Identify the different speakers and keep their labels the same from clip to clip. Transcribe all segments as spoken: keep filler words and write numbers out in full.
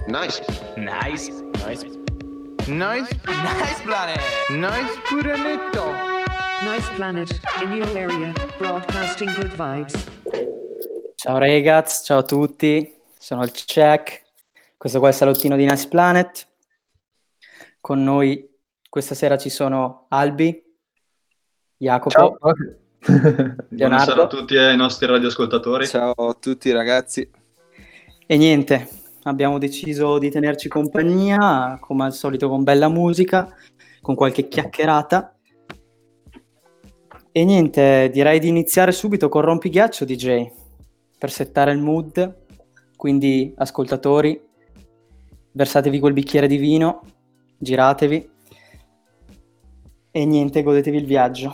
Speaker 1: Nice.
Speaker 2: Nice.
Speaker 3: Nice.
Speaker 4: Nice.
Speaker 2: Nice planet.
Speaker 4: Nice planetto.
Speaker 5: Nice planet, in your area, broadcasting good vibes.
Speaker 6: Ciao ragazzi, ciao a tutti, sono il Check, questo qua è il salottino di Nice Planet. Con noi questa sera ci sono Albi, Jacopo,
Speaker 7: Ciao.
Speaker 6: Leonardo.
Speaker 8: Buonasera a tutti e ai nostri radioascoltatori.
Speaker 7: Ciao a tutti ragazzi.
Speaker 6: E niente, abbiamo deciso di tenerci compagnia, come al solito con bella musica, con qualche chiacchierata. E niente, direi di iniziare subito con Rompighiaccio D J, per settare il mood. Quindi, ascoltatori, versatevi quel bicchiere di vino, giratevi e niente, godetevi il viaggio.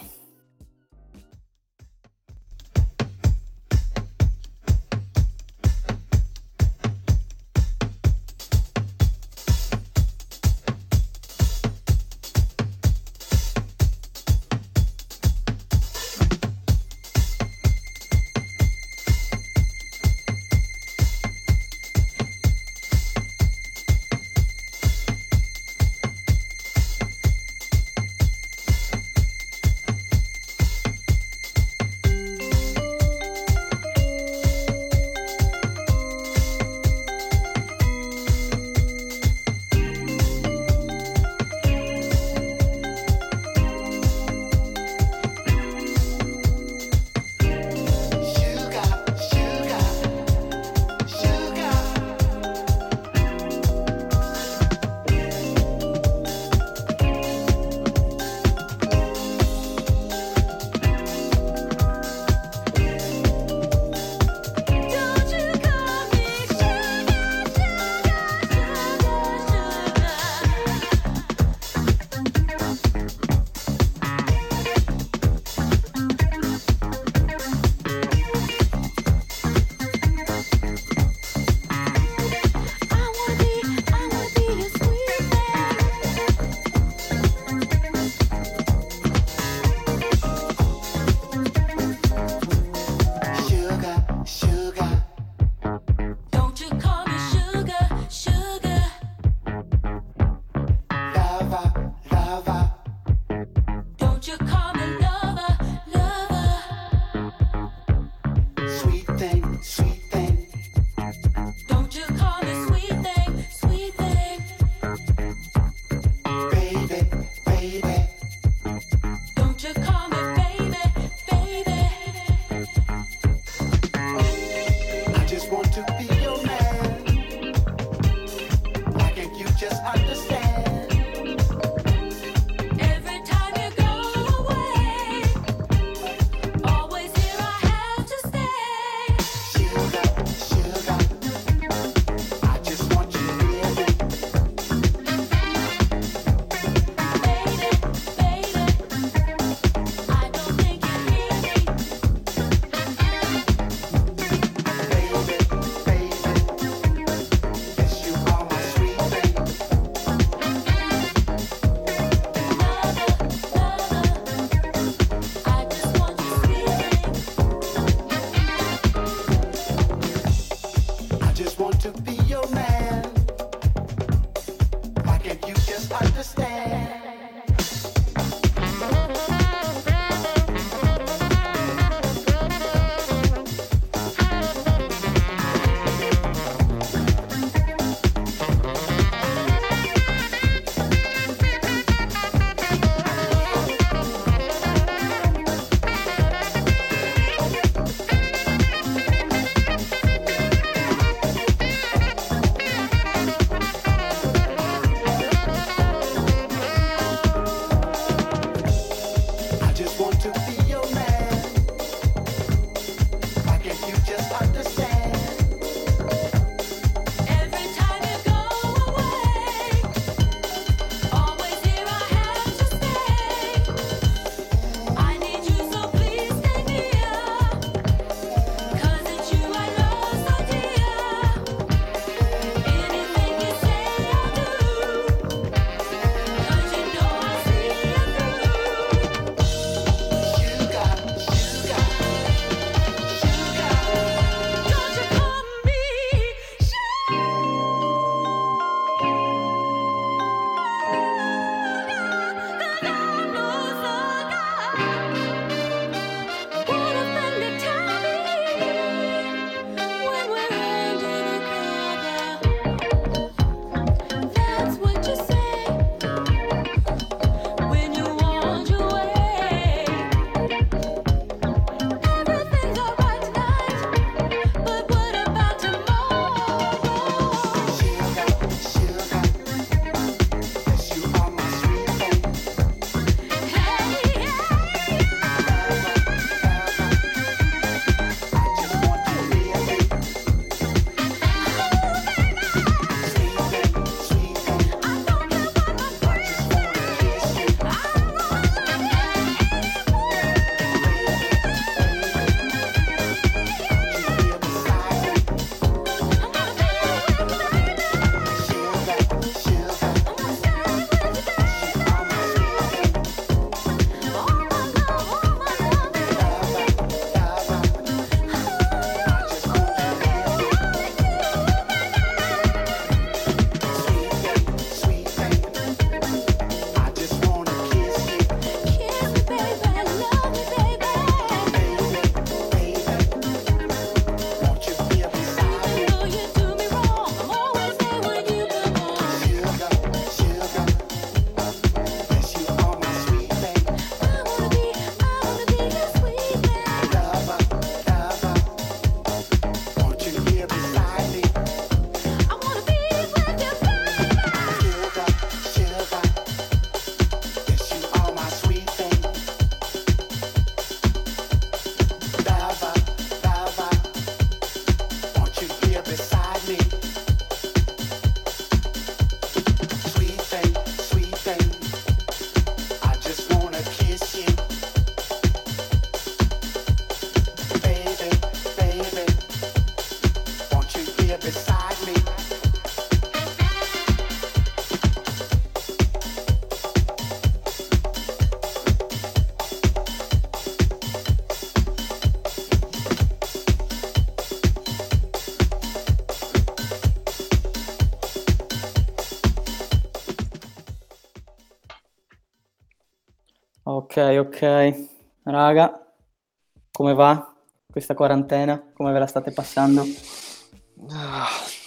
Speaker 6: Ok, ok. Raga, come va questa quarantena? Come ve la state passando?
Speaker 7: Ah,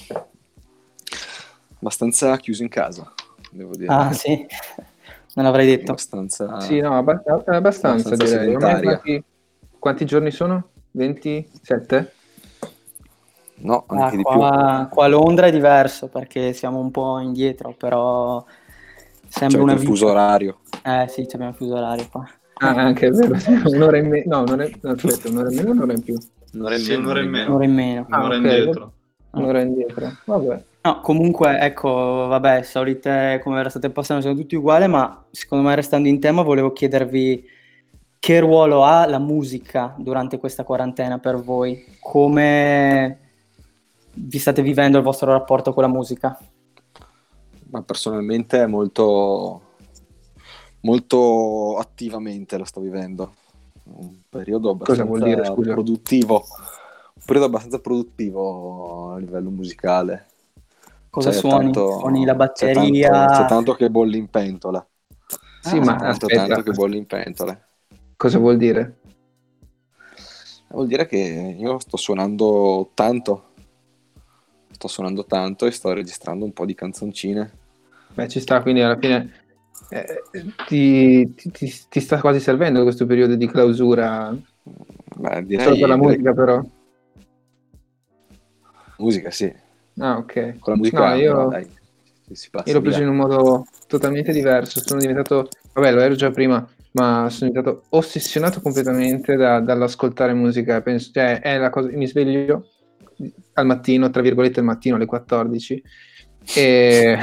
Speaker 7: abbastanza chiuso in casa, devo dire.
Speaker 6: Ah, sì, non l'avrei detto.
Speaker 7: Abbastanza,
Speaker 1: Sì, no, abbast- abbastanza,
Speaker 7: abbastanza
Speaker 1: direi. Ormai
Speaker 7: sedentaria.
Speaker 1: quanti, quanti giorni sono? ventisette?
Speaker 7: No,
Speaker 6: Ah,
Speaker 7: anche di
Speaker 6: qua, qua a Londra è diverso perché siamo un po' indietro, però
Speaker 7: più.
Speaker 6: sembra
Speaker 7: C'è
Speaker 6: una
Speaker 7: il fuso
Speaker 6: vita.
Speaker 7: orario.
Speaker 6: Eh sì, abbiamo il fuso orario qua.
Speaker 1: Ah, anche è vero, sì, un'ora in meno. No, un'ora in... no, aspetta, un'ora in meno o un'ora in più?
Speaker 7: Un'ora in
Speaker 8: Sì,
Speaker 7: meno,
Speaker 8: un'ora in meno.
Speaker 6: Un'ora in meno.
Speaker 1: Ah,
Speaker 8: Un'ora
Speaker 1: ok,
Speaker 8: indietro.
Speaker 1: un'ora indietro. Vabbè.
Speaker 6: No, comunque, ecco, vabbè, solite come ve la state passando sono tutti uguali, ma secondo me restando in tema volevo chiedervi che ruolo ha la musica durante questa quarantena per voi? Come vi state vivendo il vostro rapporto con la musica?
Speaker 7: Ma personalmente è molto, molto attivamente lo sto vivendo. Un periodo
Speaker 1: Cosa vuol
Speaker 7: abbastanza
Speaker 1: dire, scusa?
Speaker 7: produttivo. Un periodo abbastanza produttivo a livello musicale.
Speaker 6: Cosa
Speaker 7: C'è
Speaker 6: suoni?
Speaker 7: tanto-
Speaker 6: Suoni la
Speaker 7: C'è
Speaker 6: batteria?
Speaker 7: tanto, c'è tanto che bolli in pentola.
Speaker 1: Sì,
Speaker 6: Ah,
Speaker 1: ma
Speaker 7: Tanto,
Speaker 1: aspetta,
Speaker 7: tanto che bolli in pentola.
Speaker 1: cosa vuol dire?
Speaker 7: Vuol dire che io sto suonando tanto. Sto suonando tanto e sto registrando un po' di canzoncine.
Speaker 1: Beh, ci sta, quindi alla fine eh, ti, ti- ti- ti sta quasi servendo questo periodo di clausura,
Speaker 7: Beh, direi,
Speaker 1: solo per la
Speaker 7: direi-
Speaker 1: musica però.
Speaker 7: musica, sì.
Speaker 1: Ah, ok.
Speaker 7: Con la musica
Speaker 1: No, io...
Speaker 7: però, dai, si, si passa
Speaker 1: Io l'ho preso
Speaker 7: via.
Speaker 1: in un modo totalmente diverso, sono diventato, vabbè lo ero già prima, ma sono diventato ossessionato completamente da- dall'ascoltare musica, penso, cioè è la cosa, mi sveglio al mattino, tra virgolette al mattino alle quattordici e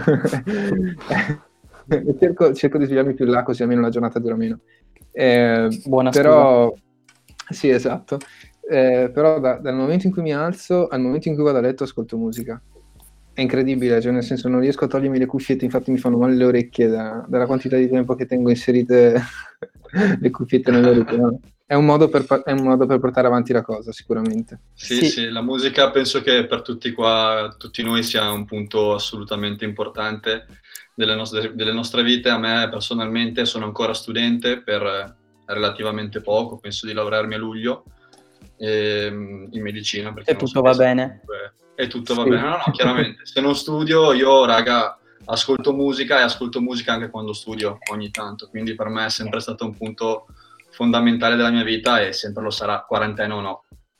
Speaker 1: e cerco, cerco di svegliarmi più là così almeno la giornata dura meno. Eh,
Speaker 6: Buona
Speaker 1: però, sì esatto, Eh, però da- dal momento in cui mi alzo al momento in cui vado a letto ascolto musica. È incredibile, cioè nel senso non riesco a togliermi le cuffiette, infatti mi fanno male le orecchie da- dalla quantità di tempo che tengo inserite le cuffiette nelle orecchie. No? È un modo per, pa- è un modo per portare avanti la cosa, sicuramente.
Speaker 8: Sì,
Speaker 6: Sì.
Speaker 8: sì, la musica penso che per tutti qua, tutti noi sia un punto assolutamente importante delle nostre, delle nostre vite. A me personalmente sono ancora studente per eh, relativamente poco, penso di laurearmi a luglio ehm, in medicina. perché
Speaker 6: E
Speaker 8: non
Speaker 6: tutto va
Speaker 8: sapessi
Speaker 6: bene.
Speaker 8: comunque- E tutto va
Speaker 1: Sì.
Speaker 8: bene. No, no, chiaramente. Se non studio, io, raga, ascolto musica e ascolto musica anche quando studio ogni tanto. Quindi per me è sempre stato un punto fondamentale della mia vita e sempre lo sarà, quarantena o no.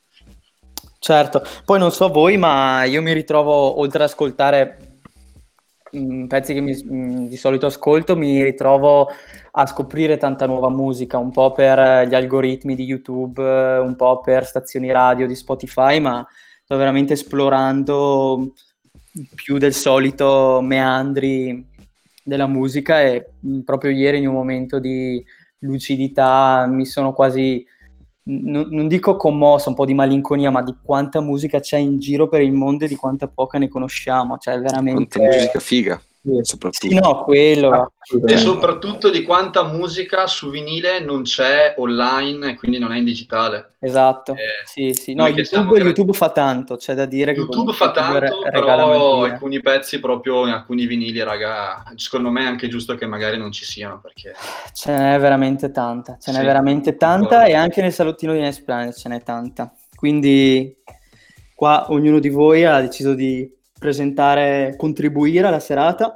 Speaker 6: Certo, poi non so voi, ma io mi ritrovo, oltre ad ascoltare mh, pezzi che mi- mh, di solito ascolto, mi ritrovo a scoprire tanta nuova musica, un po' per eh, gli algoritmi di YouTube, eh, un po' per stazioni radio di Spotify, ma sto veramente esplorando più del solito meandri della musica e mh, proprio ieri in un momento di lucidità mi sono quasi non, non dico commosso, un po' di malinconia, ma di quanta musica c'è in giro per il mondo e di quanta poca ne conosciamo, cioè veramente...
Speaker 7: Quanta musica figa,
Speaker 1: Sì.
Speaker 7: soprattutto.
Speaker 6: Sì, no, quello...
Speaker 8: E
Speaker 1: Assolutamente.
Speaker 8: soprattutto di quanta musica su vinile non c'è online e quindi non è in digitale.
Speaker 6: Esatto,
Speaker 8: Eh,
Speaker 6: sì, sì. No,
Speaker 8: noi che siamo
Speaker 6: YouTube,
Speaker 8: gra-
Speaker 6: YouTube fa tanto, c'è da dire che
Speaker 8: YouTube
Speaker 6: comunque
Speaker 8: fa tanto,
Speaker 6: re- regala
Speaker 8: però
Speaker 6: magia.
Speaker 8: alcuni pezzi proprio in alcuni vinili, raga, secondo me è anche giusto che magari non ci siano, perché
Speaker 6: Ce n'è veramente tanta, ce n'è
Speaker 8: Sì,
Speaker 6: veramente tanta
Speaker 8: concordo.
Speaker 6: e anche nel salottino di Nice Planet ce n'è tanta. Quindi qua ognuno di voi ha deciso di presentare, contribuire alla serata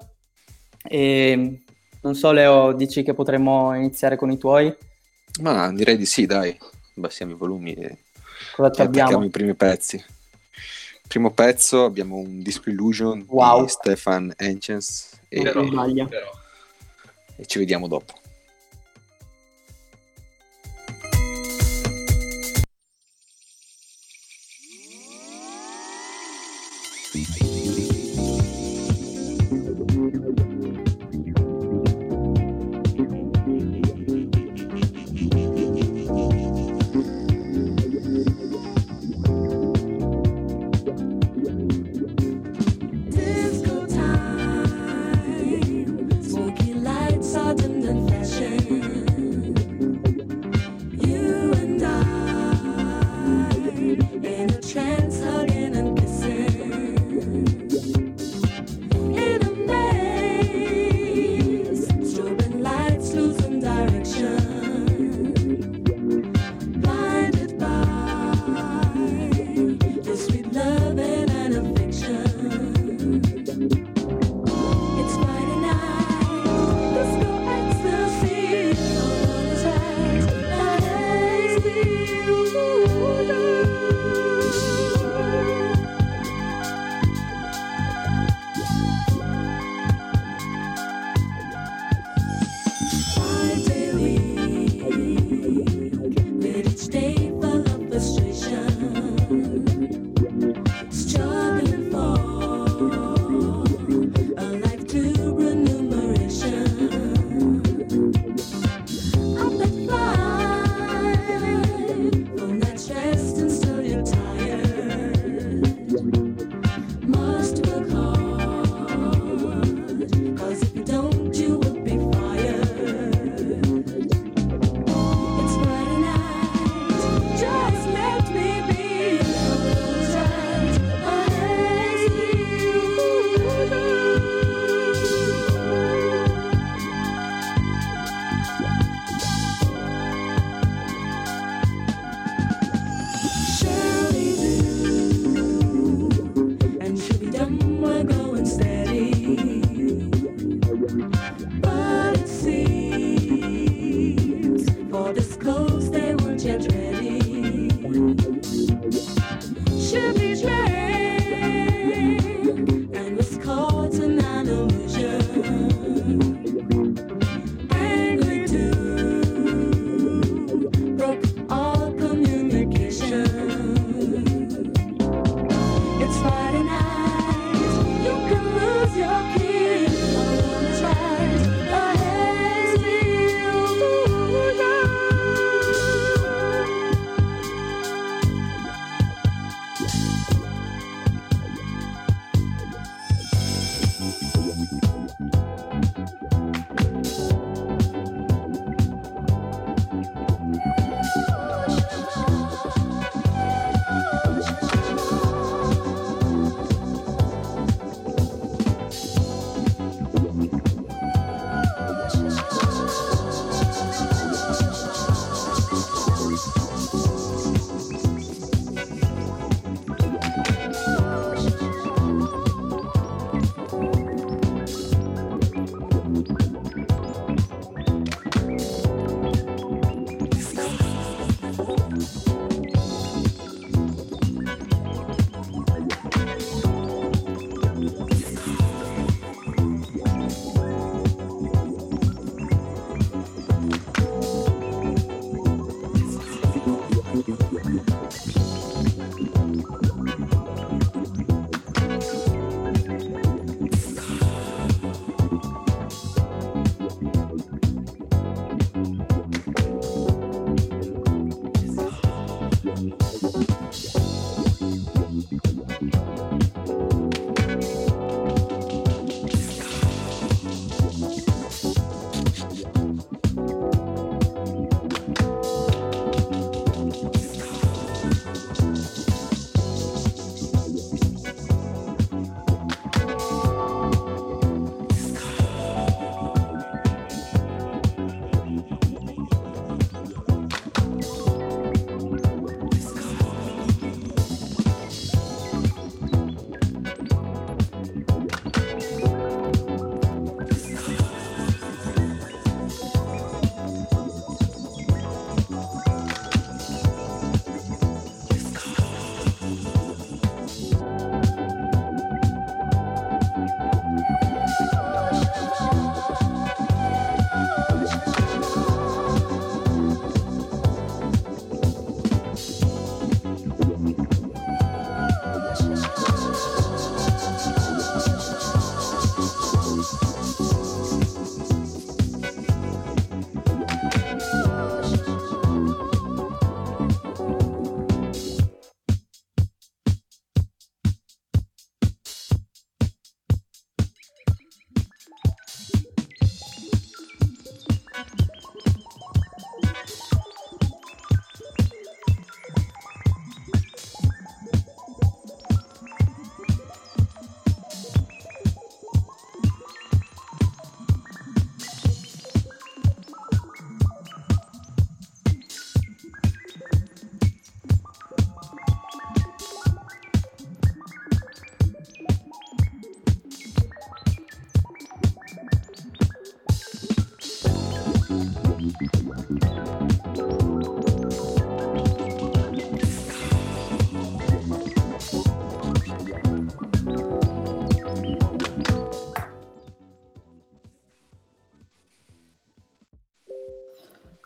Speaker 6: e non so Leo, dici che potremmo iniziare con i tuoi?
Speaker 7: Ma direi di sì, dai. Bassiamo i volumi e,
Speaker 6: Cosa ci
Speaker 7: e attacchiamo
Speaker 6: abbiamo?
Speaker 7: i primi pezzi. Primo pezzo abbiamo un Disco Illusion
Speaker 6: Wow.
Speaker 7: di Stefan Henchens e,
Speaker 6: Non
Speaker 8: però,
Speaker 6: si sbaglia.
Speaker 8: però.
Speaker 7: e ci vediamo dopo.
Speaker 3: Disco time, smoky lights are dimmed and flash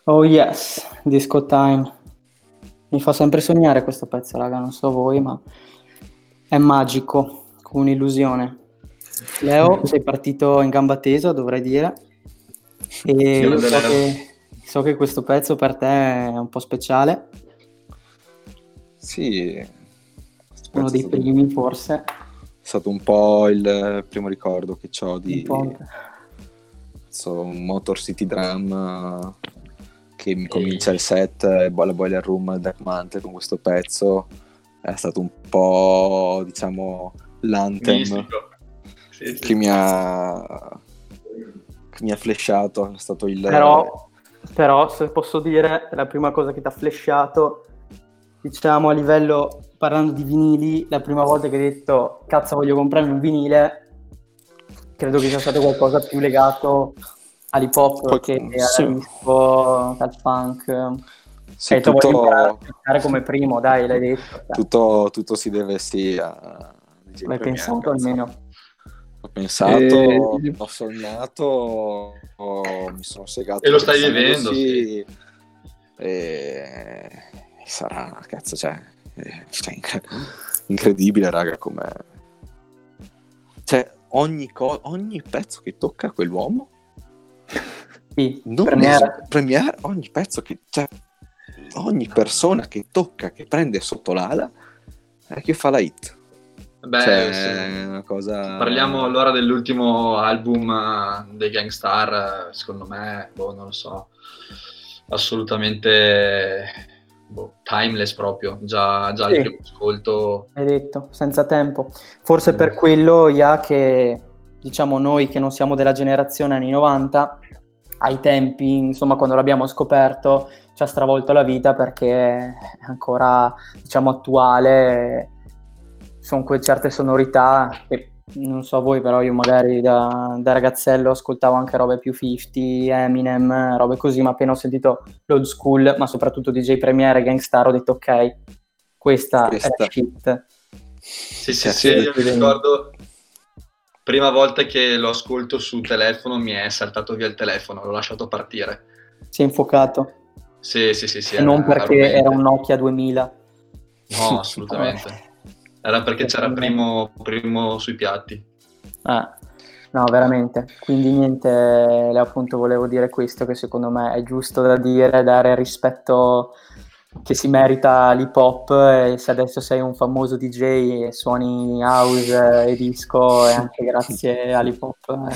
Speaker 6: Oh yes, Disco Time. Mi fa sempre sognare questo pezzo, raga, non so voi, ma è magico, come un'illusione. Leo, sei partito in gamba tesa, dovrei dire, e so che, so che questo pezzo per te è un po' speciale.
Speaker 7: Sì,
Speaker 6: uno dei
Speaker 7: stato,
Speaker 6: primi forse.
Speaker 7: È stato un po' il primo ricordo che ho di so, Motor City Drum, che mi comincia il set, la Boiler Room, Black Mantle con questo pezzo. È stato un po', diciamo, l'anthem sì, sì. che mi ha che mi ha flashato. È stato il
Speaker 6: però, però se posso dire, la prima cosa che ti ha flashato, diciamo, a livello, parlando di vinili, la prima volta che hai detto cazzo voglio comprarmi un vinile, credo che sia stato qualcosa più legato all'hip hop Poi, che sì. al disco, al funk.
Speaker 7: Sì,
Speaker 6: e
Speaker 7: tutto...
Speaker 6: voglio imparare come primo, dai, l'hai detto.
Speaker 7: Tutto, tutto si deve sì a
Speaker 6: L'hai pensato almeno?
Speaker 7: Ho pensato, e... ho sognato, ho... mi sono segato.
Speaker 8: E lo stai vivendo, sì.
Speaker 7: E... sarà, cazzo, cioè, cioè incredibile, raga, come... Cioè, ogni, co- ogni pezzo che tocca quell'uomo,
Speaker 6: sì,
Speaker 7: non
Speaker 6: premiere.
Speaker 7: Es- premiere, ogni pezzo che... Cioè, ogni persona che tocca, che prende sotto l'ala, è che fa la hit.
Speaker 8: Beh,
Speaker 7: cioè,
Speaker 8: sì.
Speaker 7: È una cosa...
Speaker 8: Parliamo allora dell'ultimo album uh, dei Gang Starr, secondo me, boh, non lo so, assolutamente boh, timeless proprio, già, già
Speaker 6: sì.
Speaker 8: il primo ascolto.
Speaker 6: Hai detto, senza tempo. Forse mm. per quello, ya che, diciamo, noi che non siamo della generazione anni novanta, ai tempi, insomma, quando l'abbiamo scoperto, ci ha stravolto la vita perché è ancora, diciamo, attuale. Sono quelle certe sonorità che non so voi, però io magari da, da ragazzello ascoltavo anche robe più cinquanta, Eminem, robe così, ma appena ho sentito l'old school, ma soprattutto D J Premier e Gang Starr, ho detto ok, questa, questa. è la shit.
Speaker 8: Sì, sì, sì, io mi ricordo prima volta che lo ascolto sul telefono mi è saltato via il telefono, l'ho lasciato partire.
Speaker 6: Si è infuocato.
Speaker 8: Sì, sì, sì, sì.
Speaker 6: E non perché era, era un Nokia duemila.
Speaker 8: No, assolutamente. Era perché c'era primo, primo sui piatti.
Speaker 6: Ah, no, veramente. Quindi niente, appunto volevo dire questo, che secondo me è giusto da dire, dare rispetto che si merita l'hip hop, e se adesso sei un famoso D J e suoni house e disco, è anche grazie all'hip hop.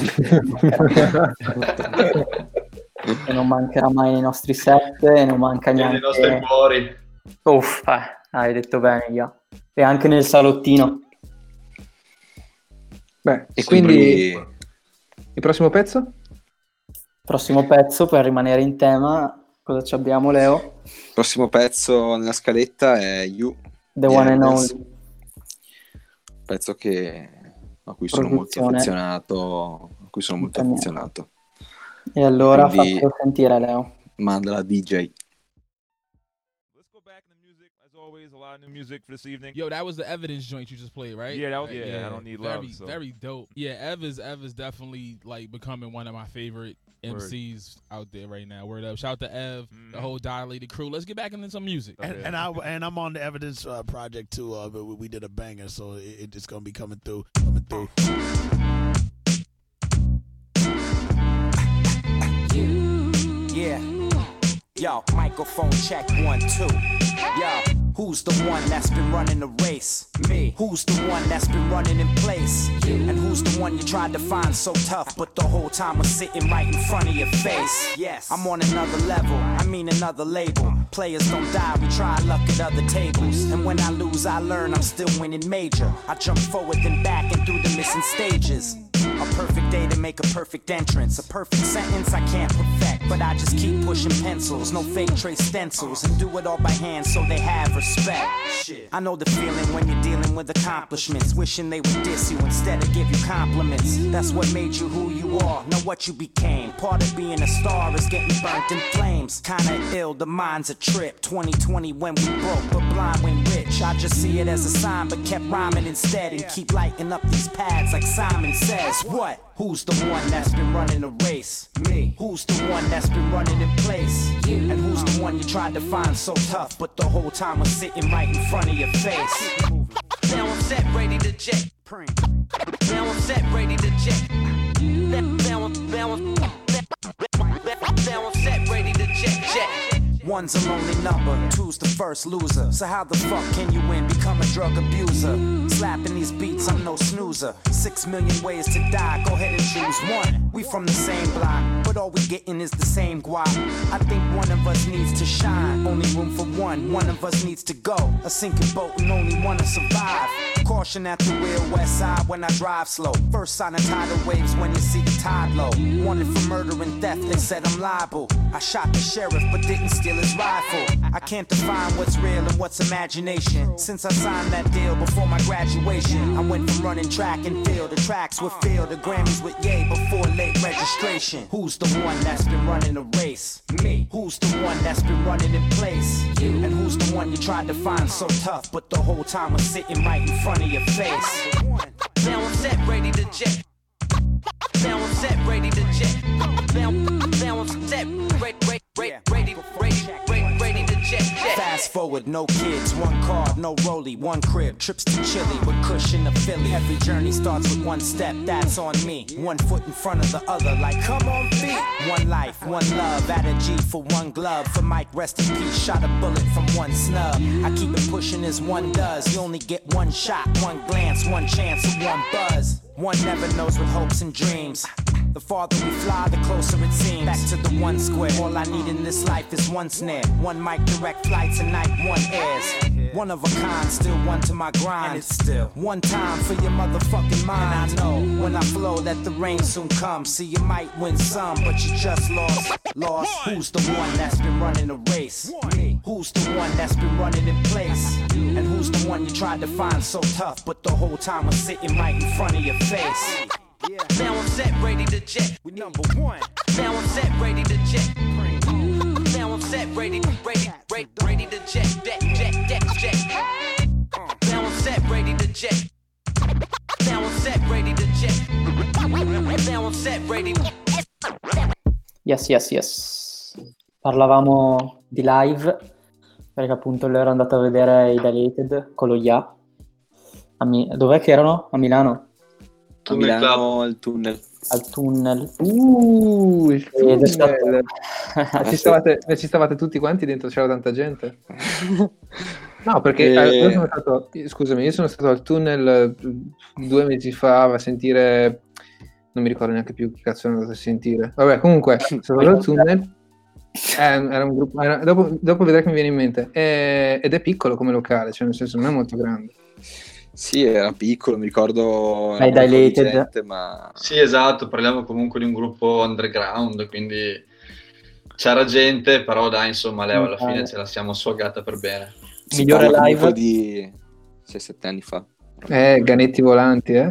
Speaker 6: Eh. E non mancherà mai nei nostri set, e non manca neanche...
Speaker 8: nei nostri cuori.
Speaker 6: Uff, eh, hai detto bene, io. E anche nel salottino.
Speaker 1: Beh, e quindi il prossimo pezzo?
Speaker 6: Prossimo pezzo, per rimanere in tema, cosa ci abbiamo, Leo?
Speaker 7: Il prossimo pezzo nella scaletta è You,
Speaker 6: The One and Only.
Speaker 7: Pezzo che a cui sono molto affezionato, a cui sono molto affezionato.
Speaker 6: E allora fatelo sentire, Leo.
Speaker 7: Mandala D J.
Speaker 3: Always a lot of new music for this evening.
Speaker 9: Yo, that was the Evidence joint you just played, right?
Speaker 3: Yeah, that was, yeah, yeah, I don't need
Speaker 9: very,
Speaker 3: love. So.
Speaker 9: Very dope. Yeah, Ev is Ev is definitely like becoming one of my favorite M Cs Word. Out there right now. Word up! Shout out to Ev, mm. the whole Dilated crew. Let's get back into some music.
Speaker 10: And, and I and I'm on the Evidence uh, project too. Uh, but we did a banger, so it, it's gonna be coming through, coming through.
Speaker 11: Yeah. Yo, microphone check one two. Yo. Who's the one that's been running the race? Me. Who's the one that's been running in place? You. And who's the one you tried to find so tough, but the whole time was sitting right in front of your face? Yes. I'm on another level, I mean another label. Players don't die, we try luck at other tables. And when I lose, I learn I'm still winning major. I jump forward then back and through the missing stages. A perfect day to make a perfect entrance. A perfect sentence I can't perfect, but I just keep pushing pencils. No fake trace stencils, and do it all by hand so they have respect. Shit. I know the feeling when you're dealing with accomplishments, wishing they would diss you instead of give you compliments. That's what made you who you are, not what you became. Part of being a star is getting burnt in flames. Kinda ill, the mind's a trip. twenty twenty when we broke, but blind when rich. I just see it as a sign, but kept rhyming instead, and keep lighting up these pads like Simon says. What? Who's the one that's been running the race? Me. Who's the one that's been running in place? You. And who's the one you tried to find so tough, but the whole time was sitting right in front of your face? Now I'm set, ready to jet. Now I'm set, ready to jet. Now I'm, now I'm, now I'm, now I'm set, ready to jet, jet. One's a lonely number, two's the first loser. So how the fuck can you win? Become a drug abuser. Slapping these beats, I'm no snoozer. Six million ways to die, go ahead and choose one. We from the same block, but all we getting is the same guap. I think one of us needs to shine. Only room for one, one of us needs to go. A sinking boat and only one to survive. Caution at the real west side when I drive slow. First sign of tidal waves when you see the tide low. Wanted for murder and theft, they said I'm liable. I shot the sheriff but didn't steal his rifle. I can't define what's real and what's imagination. Since I signed that deal before my graduation, I went from running track and field. The tracks were filled, the Grammys with yay before late registration. Who's the one that's been running a race? Me. Who's the one that's been running in place? You. And who's the one you tried to find so tough, but the whole time was sitting right in front of your face? Now I'm set, ready to jet. Now I'm set, ready to jet. Now, now I'm set, ready, ready, ready, ready, ready, ready to jet, jet. Fast forward, no kids, one car, no rollie, one crib. Trips to Chile with cushion to Philly. Every journey starts with one step, that's on me. One foot in front of the other, like come on feet. One life, one love, add a G for one glove. For Mike, rest in peace, shot a bullet from one snub. I keep it pushing as one does. You only get one shot, one glance, one chance, and one buzz. One never knows what hopes and dreams. The farther we fly, the closer it seems. Back to the one square. All I need in this life is one snare. One mic, direct flights, and night one airs. One of a kind, still one to my grind. And it's still one time for your motherfucking mind. And I know when I flow that the rain soon comes. See, you might win some, but you just lost. Lost. Who's the one that's been running a race? Me. Who's the one that's been running in place? And who's the one you tried to find so tough, but the whole time was sitting right in front of your face? Yeah. Now I'm set, ready to jet. We number one. Now I'm set, ready to jet. Now I'm set, ready, ready, ready, ready to jet, jet, jet, jet, jet. Now I'm set, ready to jet. Now I'm set, ready to jet. Now I'm set, ready.
Speaker 6: Yes, yes, yes. Parlavamo di live perché appunto lei era andata a vedere i Dilated con lo Ya. A Mi- Dov'è che erano? A Milano?
Speaker 7: A Milano al tunnel.
Speaker 6: Al tunnel.
Speaker 1: Uh, il
Speaker 6: Ed è stato-
Speaker 1: tunnel. ci, stavate, ci stavate tutti quanti dentro, c'era tanta gente. No, perché
Speaker 7: E-
Speaker 1: eh, io sono stato, scusami, io sono stato al tunnel eh, due mesi fa a sentire, non mi ricordo neanche più che cazzo sono andato a sentire. Vabbè, comunque, sono stato al tunnel. Eh, era un gruppo, era- dopo, dopo vedrai che mi viene in mente. Eh, ed è piccolo come locale, cioè nel senso non è molto grande.
Speaker 7: Sì, era piccolo, mi ricordo.
Speaker 6: Ai
Speaker 7: era un po' di
Speaker 6: Dilated.
Speaker 7: gente, ma
Speaker 8: Sì, esatto, parliamo comunque di un gruppo underground, quindi c'era gente, però dai, insomma, Leo alla fine ce la siamo sfogata per bene.
Speaker 7: si
Speaker 6: Migliore
Speaker 7: parla comunque
Speaker 6: live.
Speaker 7: di sei sette anni fa.
Speaker 1: Eh, ganetti volanti, eh?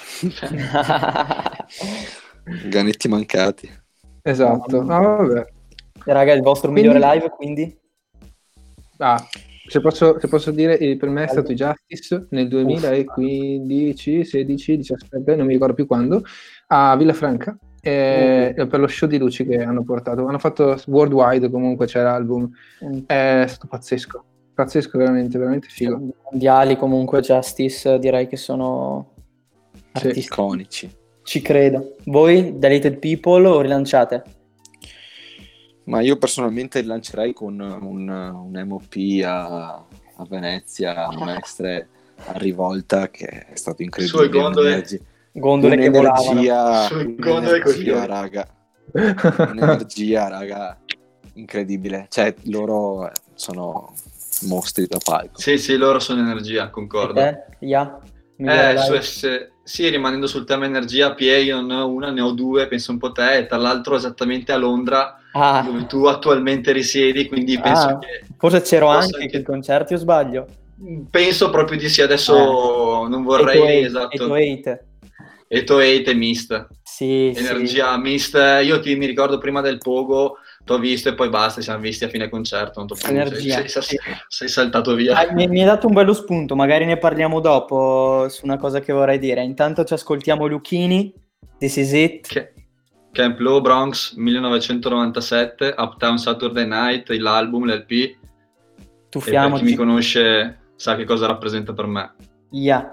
Speaker 7: Ganetti mancati.
Speaker 1: Esatto. Ah, vabbè.
Speaker 6: E raga, il vostro
Speaker 1: Quindi-
Speaker 6: migliore live quindi?
Speaker 1: Ah, se posso, se posso dire, eh, per me è stato i Justice nel duemilaquindici, sedici, diciassette, non mi ricordo più quando, a Villafranca, eh, per lo show di luci che hanno portato. Hanno fatto worldwide, comunque c'è l'album.
Speaker 6: Mm.
Speaker 1: È stato pazzesco, pazzesco, veramente, veramente figo.
Speaker 6: Mondiali comunque, Justice direi che sono
Speaker 1: Sì.
Speaker 6: artisti.
Speaker 7: Iconici.
Speaker 6: Ci credo. Voi, Dilated People, o rilanciate?
Speaker 7: Ma io personalmente lancerei con un, un M O P a, a Venezia, a Mestre, a Rivolta, che è stato incredibile.
Speaker 8: Sue gondole.
Speaker 7: Un'energia-
Speaker 6: Gondole che volavano.
Speaker 7: un'energia,
Speaker 8: Sue gondole coi
Speaker 7: un'energia,
Speaker 8: fiori.
Speaker 7: raga. Un'energia, raga, incredibile. Cioè, loro sono mostri da palco.
Speaker 8: Sì, sì, loro sono energia, concordo.
Speaker 6: E te? Ya? Migliore
Speaker 8: Eh,
Speaker 6: live?
Speaker 8: su- se- sì, rimanendo sul tema energia, P A io non ne ho una, ne ho due, penso un po' te, e tra l'altro esattamente a Londra,
Speaker 6: Ah,
Speaker 8: dove tu attualmente risiedi, quindi penso
Speaker 6: ah,
Speaker 8: che
Speaker 6: forse c'ero
Speaker 8: possa
Speaker 6: anche
Speaker 8: anche-
Speaker 6: che i concerti, o sbaglio?
Speaker 8: penso proprio di sì, adesso non vorrei, esatto,
Speaker 6: otto otto.
Speaker 8: Eto Eight e Mist,
Speaker 6: Sì,
Speaker 8: energia Mist, io ti mi ricordo prima del Pogo, ti ho visto e poi basta, ci siamo visti a fine concerto, non t'ho più-
Speaker 6: Energia.
Speaker 8: sei, sei- sei saltato via.
Speaker 6: Ah, mi, mi hai dato un bello spunto, magari ne parliamo dopo su una cosa che vorrei dire. Intanto ci ascoltiamo Luchini This Is It.
Speaker 8: Che- Camp Low, Bronx, millenovecentonovantasette, Uptown Saturday Night, l'album, l'L P. E per
Speaker 6: Tuffiamoci.
Speaker 8: chi mi conosce sa che cosa rappresenta per me.
Speaker 6: Yeah.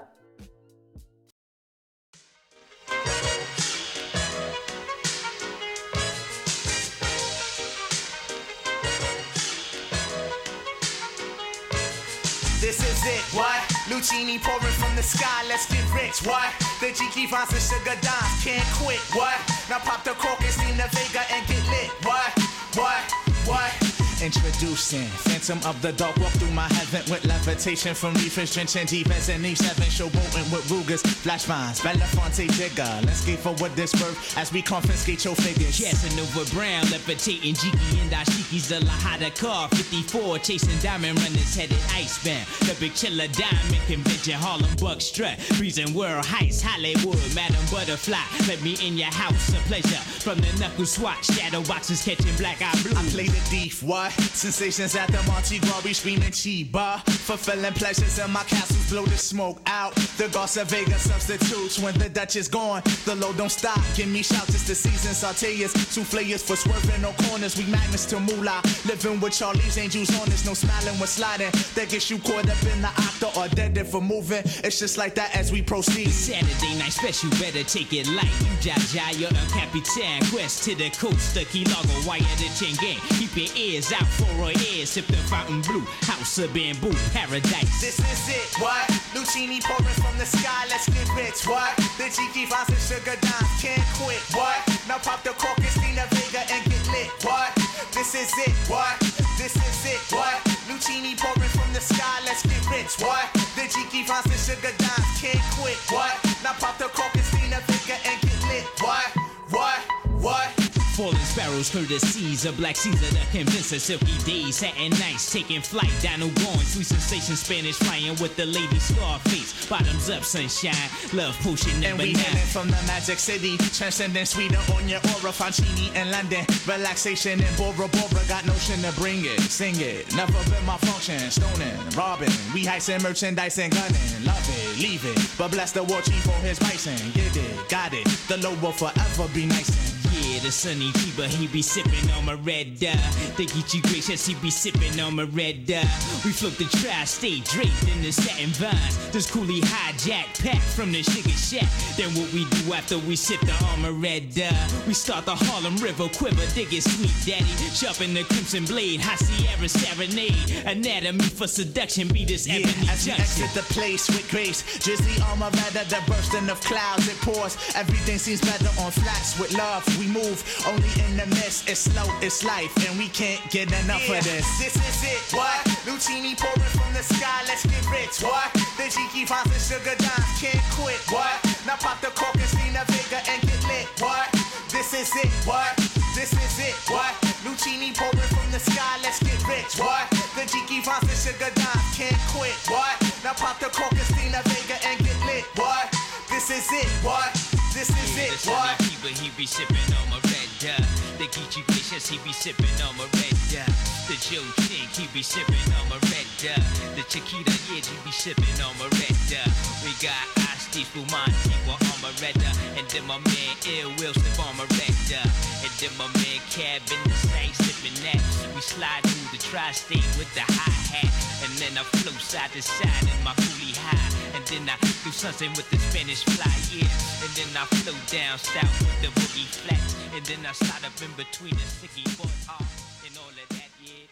Speaker 12: This is it, what? Lucini pouring from the sky, let's get rich, what? The Jiki Vines and Sugar Dimes can't quit, what? Now pop the cork and steam the Vega and get lit, what? What? What? Introducing Phantom of the Dark, walk through my heaven with levitation from reefers, drenching defense and Eve seven, showboating with Rugers, flash vines, Belafonte Jigger. Let's get forward this birth as we confiscate your figures.
Speaker 13: Casanova Brown, levitating Jiki and Dashiki's the Lahada car, fifty-four, chasing diamond runners headed icebound. The big chiller diamond convention, Harlem Buck strut, freezing world heights, Hollywood, Madam Butterfly. Let me in your house, a pleasure. From the knuckle swatch, shadow boxes catching black eye blue.
Speaker 12: I play the thief, what? Sensations at the Monte Gras, we screaming Chiba. Fulfilling pleasures in my castles, blow the smoke out. The Garza Vega substitutes when the Dutch is gone. The load don't stop, give me shouts, it's the season. Sauteas, souffleurs for swerving no corners. We magnets to moolah, living with Charlie's Angels on us. No smiling when sliding, that gets you caught up in the octa or dead for moving. It's just like that as we proceed.
Speaker 13: Saturday night special, better take it light. You Jaja, you're El Capitan. Quest to the coast, the Key Largo, wire the chain gang. Keep your ears out for a ear, sip the fountain blue. House of bamboo, paradise.
Speaker 12: This is it, what? Lucini pouring from the sky, let's get rich, what? The Jiki Vines and Sugar Dimes can't quit, what? Now pop the cork and steam the Vega and get lit, what? This is it, what? This is it, what? Lucini pouring from the sky, let's get rich, what? The Jiki Vines and Sugar Dimes can't quit, what? Now pop the cork and steam the Vega and get lit, what? What? What?
Speaker 13: Falling sparrows, courtesies of Black Caesar, the convincer, silky days, satin nights, taking flight, Dino going, sweet sensation, Spanish flying with the lady Scarface, bottoms up, sunshine, love potion
Speaker 12: And
Speaker 13: number
Speaker 12: we
Speaker 13: nine.
Speaker 12: heading from the Magic City, transcending sweeter on your aura, Fancini in London, relaxation in Bora Bora, got notion to bring it, sing it, never been my function, stoning, robbing, we heisting merchandise and gunning, love it, leave it, but bless the war chief for his bison, get it, got it, the low will forever be nice and
Speaker 13: Yeah, the sunny keeper, he be sipping on my red dye. They get you gracious, he be sipping on my red dye. We float the tri-state draped in the satin vines. This coolie hijack pack from the sugar shack. Then what we do after we sip the armor red dye? We start the Harlem River quiver, dig it sweet daddy. Sharpen the crimson blade, high Sierra serenade. Anatomy for seduction, be this
Speaker 12: Yeah,
Speaker 13: ebony
Speaker 12: as we
Speaker 13: junction.
Speaker 12: exit the place with grace, drizzly armor rather the bursting of clouds it pours. Everything seems better on flats with love. We move only in the mist. It's slow, it's life, and we can't get enough
Speaker 13: Yeah,
Speaker 12: of this.
Speaker 13: this
Speaker 12: is it. What? Lucini pouring from the sky. Let's get rich. What? The Jiki Vines and Sugar Dimes can't quit. What? Now pop the cork and steam the Vega and get lit. What? This is it. What? This is it. What? Lucini pouring from the sky. Let's get rich. What? The Jiki Vines and Sugar Dimes can't quit. What? Now pop the cork and steam the Vega and get lit. What? This is it. What? This is
Speaker 13: Yeah,
Speaker 12: it.
Speaker 13: the sunny
Speaker 12: What?
Speaker 13: keeper, he be sipping on my red dye. The Geechee Vicious, he be sipping on my red dye. The Joe Chink, he be sipping on my red dye. The Chiquita, yeah, he be sipping on my red dye. We got Asti Fumanti, we're on my red dye. And then my man Ill Will slip on my red dye. And then my man Cab in the same sipping that. We slide through the tri-state with the hi-hat. And then I flow side to side in my coolie high. And then I do something with the Spanish fly, yeah. And then I flow down south with the boogie flats. And then I slide up in between the sticky board hard and all of that, yeah.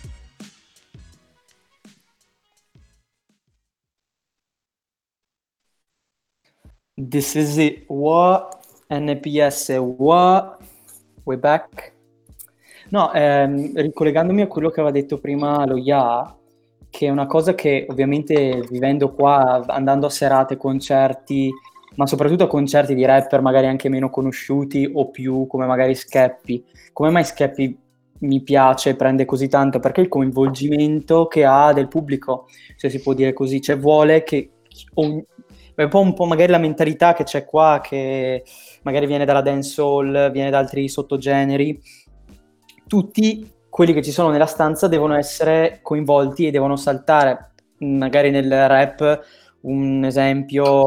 Speaker 6: This is it. What? N P S. What? We back? No, ehm, ricollegandomi a quello che aveva detto prima lo Ya, che è una cosa che ovviamente vivendo qua, andando a serate, concerti, ma soprattutto a concerti di rapper magari anche meno conosciuti o più come magari Skeppy. Come mai Skeppy mi piace, prende così tanto? Perché il coinvolgimento che ha del pubblico, se si può dire così, cioè vuole che ogni, è un po', un po' magari la mentalità che c'è qua, che magari viene dalla dancehall, viene da altri sottogeneri, tutti quelli che ci sono nella stanza devono essere coinvolti e devono saltare. Magari nel rap un esempio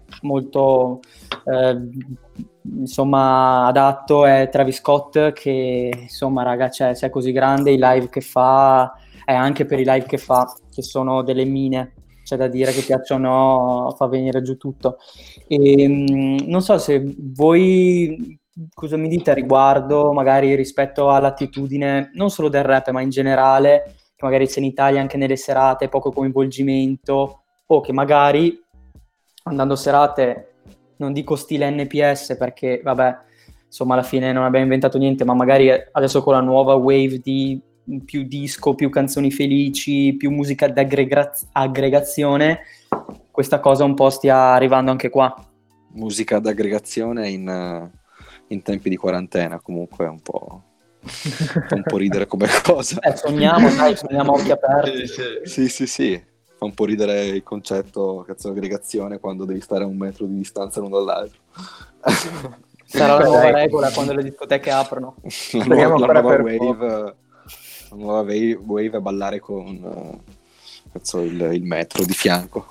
Speaker 6: molto eh, insomma adatto è Travis Scott, che insomma raga, cioè, se è così grande, i live che fa, è anche per i live che fa, che sono delle mine, c'è da dire, che piacciono, fa venire giù tutto. E mh, non so se voi cosa mi dite a riguardo, magari rispetto all'attitudine non solo del rap ma in generale, che magari c'è in Italia anche nelle serate poco coinvolgimento, o che magari andando a serate, non dico stile N P S perché vabbè, insomma alla fine non abbiamo inventato niente, ma magari adesso con la nuova wave di più disco, più canzoni felici, più musica d'aggregazione, questa cosa un po' stia arrivando anche qua.
Speaker 7: Musica d'aggregazione in, in tempi di quarantena comunque è un po'... fa un po' ridere come cosa.
Speaker 6: Eh, sogniamo, dai, sogniamo a occhi aperti.
Speaker 7: Sì, sì, sì. Fa un po' ridere il concetto cazzo aggregazione quando devi stare a un metro di distanza l'uno dall'altro.
Speaker 6: Sarà la nuova regola quando le discoteche aprono.
Speaker 7: La nuova, la nuova wave, la nuova wave, wave è ballare con uh, cazzo, il, il metro di fianco.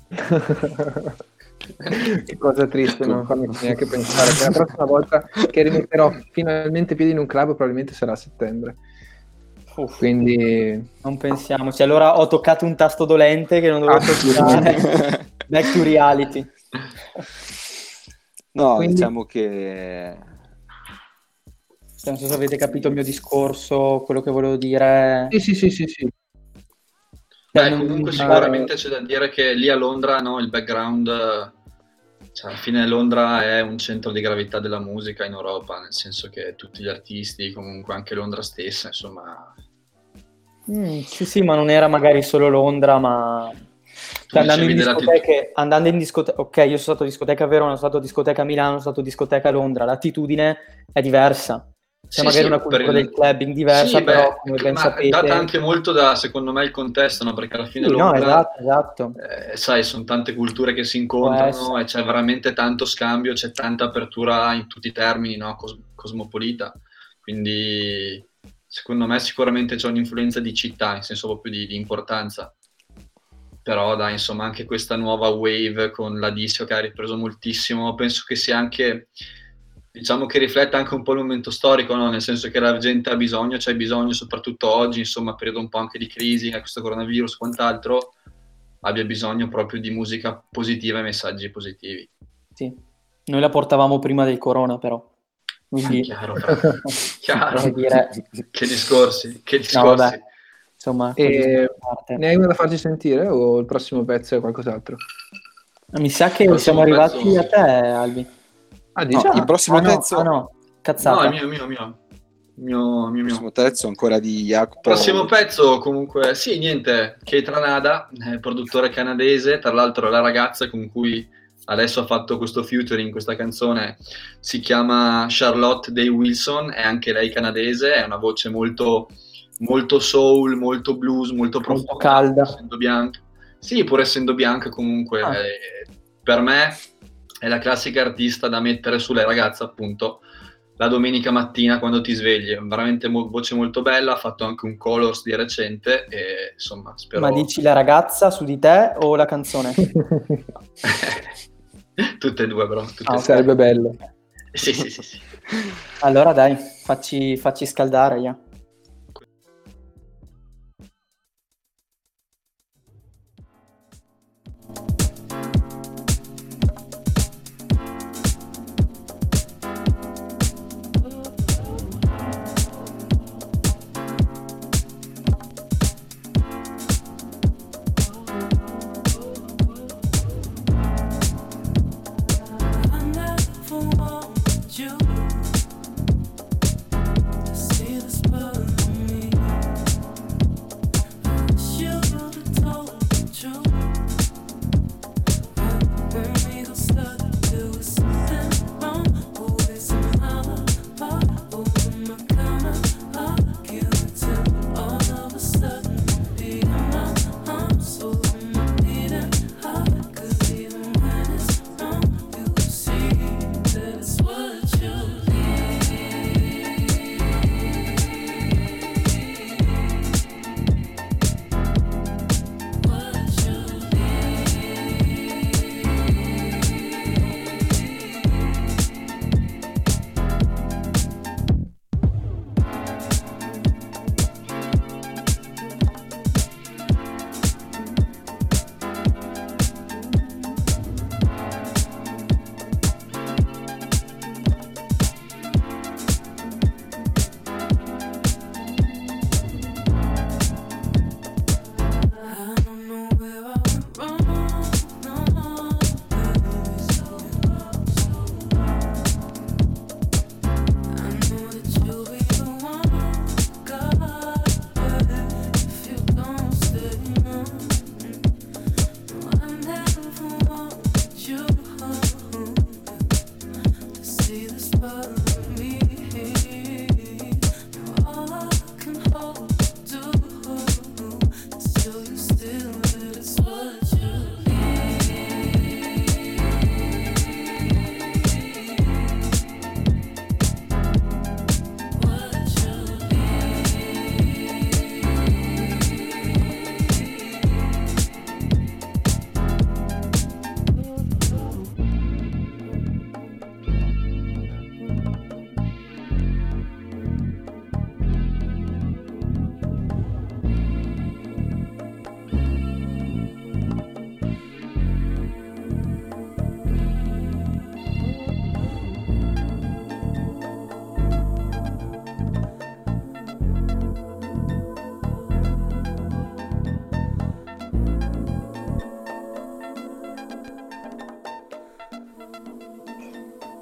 Speaker 1: Che cosa triste, non farmi neanche pensare che la prossima volta che rimetterò finalmente piedi in un club probabilmente sarà a settembre. Uff, quindi
Speaker 6: non pensiamoci. Allora ho toccato un tasto dolente che non dovevo toccare. Back to reality.
Speaker 7: No,
Speaker 6: quindi,
Speaker 7: diciamo che
Speaker 6: non so se avete capito il mio discorso, quello che volevo dire.
Speaker 1: Sì, sì, sì, sì, sì.
Speaker 8: Beh, comunque sicuramente c'è da dire che lì a Londra, no, il background, cioè alla fine Londra è un centro di gravità della musica in Europa, nel senso che tutti gli artisti, comunque anche Londra stessa, insomma...
Speaker 6: Mm, sì, sì, ma non era magari solo Londra, ma... Cioè, andando, in discoteche, andando in discoteca, ok, io sono stato a discoteca a Verona, sono stato a discoteca a Milano, sono stato a discoteca a Londra, l'attitudine è diversa. C'è sì, magari sì, una cultura il... del clubbing diversa, sì, però beh, come ben
Speaker 8: ma
Speaker 6: sapete...
Speaker 8: è data anche molto da, secondo me, il contesto, no? Perché alla fine
Speaker 6: sì,
Speaker 8: Londra,
Speaker 6: no, esatto, esatto.
Speaker 8: Eh, sai, sono tante culture che si incontrano e c'è veramente tanto scambio, c'è tanta apertura in tutti i termini, no? Cos- cosmopolita. Quindi, secondo me, sicuramente c'è un'influenza di città, in senso proprio di, di importanza. Però, dai, insomma, anche questa nuova wave con la disco che ha ripreso moltissimo, penso che sia anche... diciamo che rifletta anche un po' il momento storico, no? Nel senso che la gente ha bisogno, c'è bisogno soprattutto oggi, insomma, periodo un po' anche di crisi, eh, questo coronavirus, quant'altro, abbia bisogno proprio di musica positiva e messaggi positivi.
Speaker 6: Sì, noi la portavamo prima del corona, però. Quindi...
Speaker 8: chiaro, chiaro. Dire... che discorsi, che discorsi.
Speaker 6: No, vabbè. Insomma,
Speaker 1: e... ne hai una da farci sentire o il prossimo pezzo è qualcos'altro?
Speaker 6: Mi sa che siamo arrivati pezzo... a te, Albi.
Speaker 1: Ah, diciamo.
Speaker 7: No, il prossimo
Speaker 6: ah, no,
Speaker 7: terzo
Speaker 6: ah, no, cazzata.
Speaker 8: No, il mio, mio, mio. Mio, mio,
Speaker 7: il prossimo terzo ancora di Jacopo.
Speaker 8: Il prossimo pezzo comunque, sì, niente, Keitra Nada, eh, produttore canadese, tra l'altro la ragazza con cui adesso ha fatto questo featuring, questa canzone, si chiama Charlotte Day Wilson, è anche lei canadese, è una voce molto, molto soul, molto blues, molto profonda,
Speaker 6: molto calda.
Speaker 8: Essendo bianca. Sì, pur essendo bianca comunque, ah. eh, per me... è la classica artista da mettere sulle ragazze, appunto, la domenica mattina quando ti svegli. È veramente mo- voce molto bella, ha fatto anche un Colors di recente e insomma spero...
Speaker 6: Ma dici la ragazza su di te o la canzone?
Speaker 8: Tutte e due, bro. Tutte
Speaker 6: ah,
Speaker 8: e
Speaker 1: sarebbe bello.
Speaker 8: Sì, sì, sì, sì.
Speaker 6: Allora dai, facci, facci scaldare, yeah.
Speaker 14: See the spot.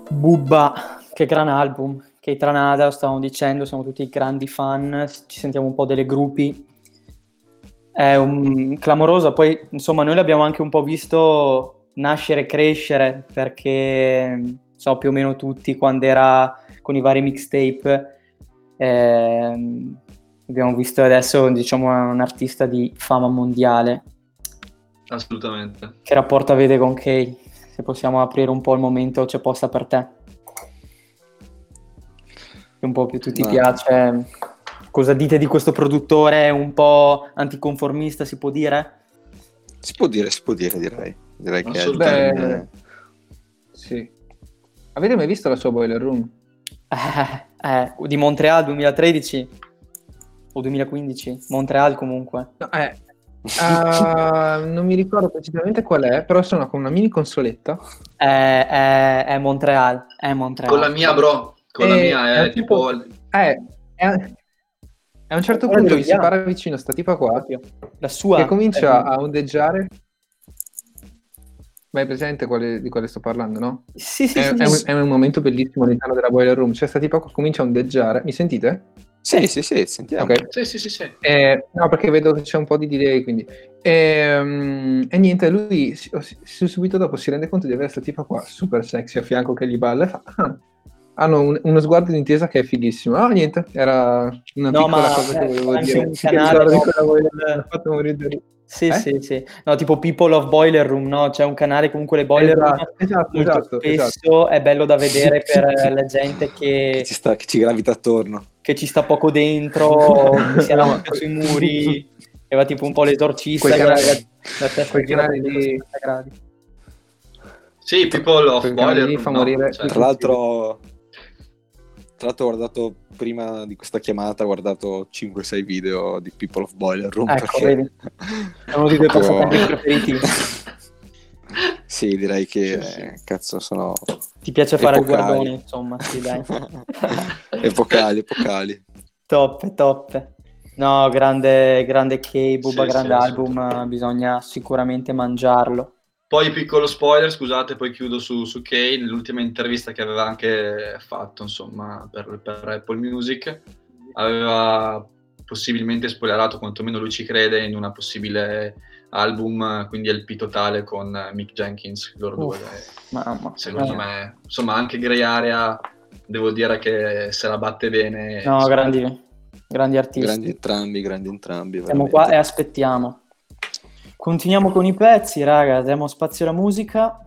Speaker 6: Bubba, che gran album. Che Tranada, stavamo dicendo, siamo tutti grandi fan, ci sentiamo un po' delle gruppi. È un clamoroso, poi insomma noi l'abbiamo anche un po' visto nascere e crescere, perché so più o meno tutti quando era con i vari mixtape, eh, abbiamo visto adesso diciamo è un artista di fama mondiale.
Speaker 8: Assolutamente.
Speaker 6: Che rapporto avete con Kay? Se possiamo aprire un po' il momento, c'è posta per te. Che un po' più tu ti
Speaker 7: Ma...
Speaker 6: piace. Cosa dite di questo produttore un po' anticonformista, si può dire?
Speaker 7: Si può dire, si può dire, direi. Direi che è il
Speaker 1: Beh,
Speaker 7: termine.
Speaker 1: sì. Avete mai visto la sua Boiler Room?
Speaker 6: Eh, eh, di Montreal duemilatredici o duemilaquindici? Montreal comunque.
Speaker 1: No, eh, uh, non mi ricordo precisamente qual è, però sono con una mini consoletta.
Speaker 6: È, è, è Montreal, è Montreal.
Speaker 8: Con la mia, bro. Con
Speaker 1: E
Speaker 8: la mia è,
Speaker 1: è
Speaker 8: tipo...
Speaker 1: tipo- Eh, è, a un certo
Speaker 6: Guarda,
Speaker 1: punto gli si
Speaker 6: vediamo.
Speaker 1: para vicino sta tipa qua
Speaker 6: La sua
Speaker 1: che comincia
Speaker 6: è-
Speaker 1: a ondeggiare. Ma hai presente quale- di quale sto parlando, no?
Speaker 6: Sì, sì,
Speaker 1: È,
Speaker 6: sì,
Speaker 1: è un,
Speaker 6: sì.
Speaker 1: è un momento bellissimo all'interno della Boiler Room. Cioè sta tipa qua comincia a ondeggiare. Mi sentite?
Speaker 7: Sì, sì, sì, sentiamo.
Speaker 1: Ok.
Speaker 8: Sì, sì, sì, sì.
Speaker 1: Eh, no, perché vedo che c'è un po' di delay, quindi. Ehm, E, niente, lui si- si- subito dopo si rende conto di avere questa tipa qua super sexy a fianco che gli balla e fa. "Ah." Hanno un- uno sguardo d'intesa che è fighissimo. Ah, niente, era una
Speaker 6: No,
Speaker 1: piccola
Speaker 6: ma
Speaker 1: cosa che
Speaker 6: eh,
Speaker 1: volevo
Speaker 6: anche
Speaker 1: dire.
Speaker 6: un
Speaker 1: Sì, che
Speaker 6: canale,
Speaker 1: ricordo di
Speaker 6: no?
Speaker 1: quella Boiler Room, mi ha fatto morire da ridere.
Speaker 6: Sì,
Speaker 1: Eh?
Speaker 6: sì, sì. No, tipo People of Boiler Room, no? C'è un canale comunque le Boiler Room
Speaker 1: Esatto, esatto,
Speaker 6: molto
Speaker 1: esatto,
Speaker 6: spesso
Speaker 1: esatto.
Speaker 6: è bello da vedere per la gente
Speaker 7: Che
Speaker 6: che,
Speaker 7: ci, sta, che ci gravita attorno.
Speaker 6: che ci sta poco dentro, che si arrampica sui muri, e va tipo un po' l'esorcista
Speaker 1: Quei
Speaker 6: che la,
Speaker 1: canali-
Speaker 6: la testa
Speaker 1: quei
Speaker 6: gira
Speaker 1: canali
Speaker 6: a
Speaker 1: lì-
Speaker 6: sessanta gradi.
Speaker 8: Sì, People of
Speaker 1: Quel canale
Speaker 8: Boiler
Speaker 1: lì
Speaker 8: Room,
Speaker 1: fa
Speaker 8: no?
Speaker 1: morire
Speaker 8: Cioè,
Speaker 7: Tra l'altro, tra l'altro ho guardato prima di questa chiamata, ho guardato cinque sei video di People of Boiler Room.
Speaker 6: Ecco,
Speaker 7: perché
Speaker 6: vedi? È uno dei tuoi
Speaker 7: proprio-
Speaker 6: passatempi preferiti.
Speaker 7: Sì, direi che eh, cazzo sono
Speaker 6: Ti piace fare il
Speaker 7: epocali.
Speaker 6: guardone, insomma, sì, dai.
Speaker 7: epocali, epocali.
Speaker 6: Top, top. No, grande, grande K, Bubba,
Speaker 8: Sì,
Speaker 6: grande
Speaker 8: sì,
Speaker 6: album, eh, bisogna sicuramente mangiarlo.
Speaker 8: Poi piccolo spoiler, scusate, poi chiudo su, su Kay, nell'ultima intervista che aveva anche fatto, insomma, per, per Apple Music, aveva possibilmente spoilerato, quantomeno lui ci crede, in una possibile album, quindi L P totale con Mick Jenkins, loro due.
Speaker 6: Mamma.
Speaker 8: Secondo
Speaker 6: Eh.
Speaker 8: me, insomma, anche Grey Area, devo dire che se la batte bene.
Speaker 6: No,
Speaker 8: insomma.
Speaker 6: grandi, grandi artisti.
Speaker 7: Grandi entrambi, grandi entrambi.
Speaker 6: Siamo
Speaker 7: veramente.
Speaker 6: qua e aspettiamo. Continuiamo con i pezzi, raga, diamo spazio alla musica.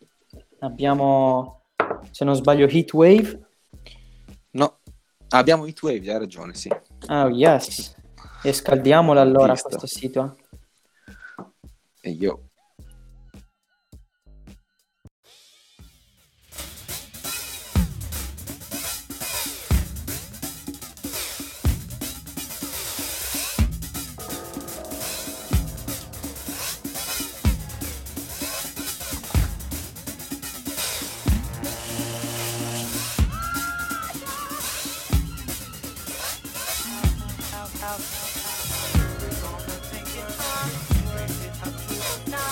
Speaker 6: Abbiamo, se non sbaglio, Heatwave.
Speaker 7: No, abbiamo Heatwave, hai ragione, sì.
Speaker 6: Oh, yes. E scaldiamola allora
Speaker 7: Vista.
Speaker 6: questo sito.
Speaker 7: E io...
Speaker 12: Now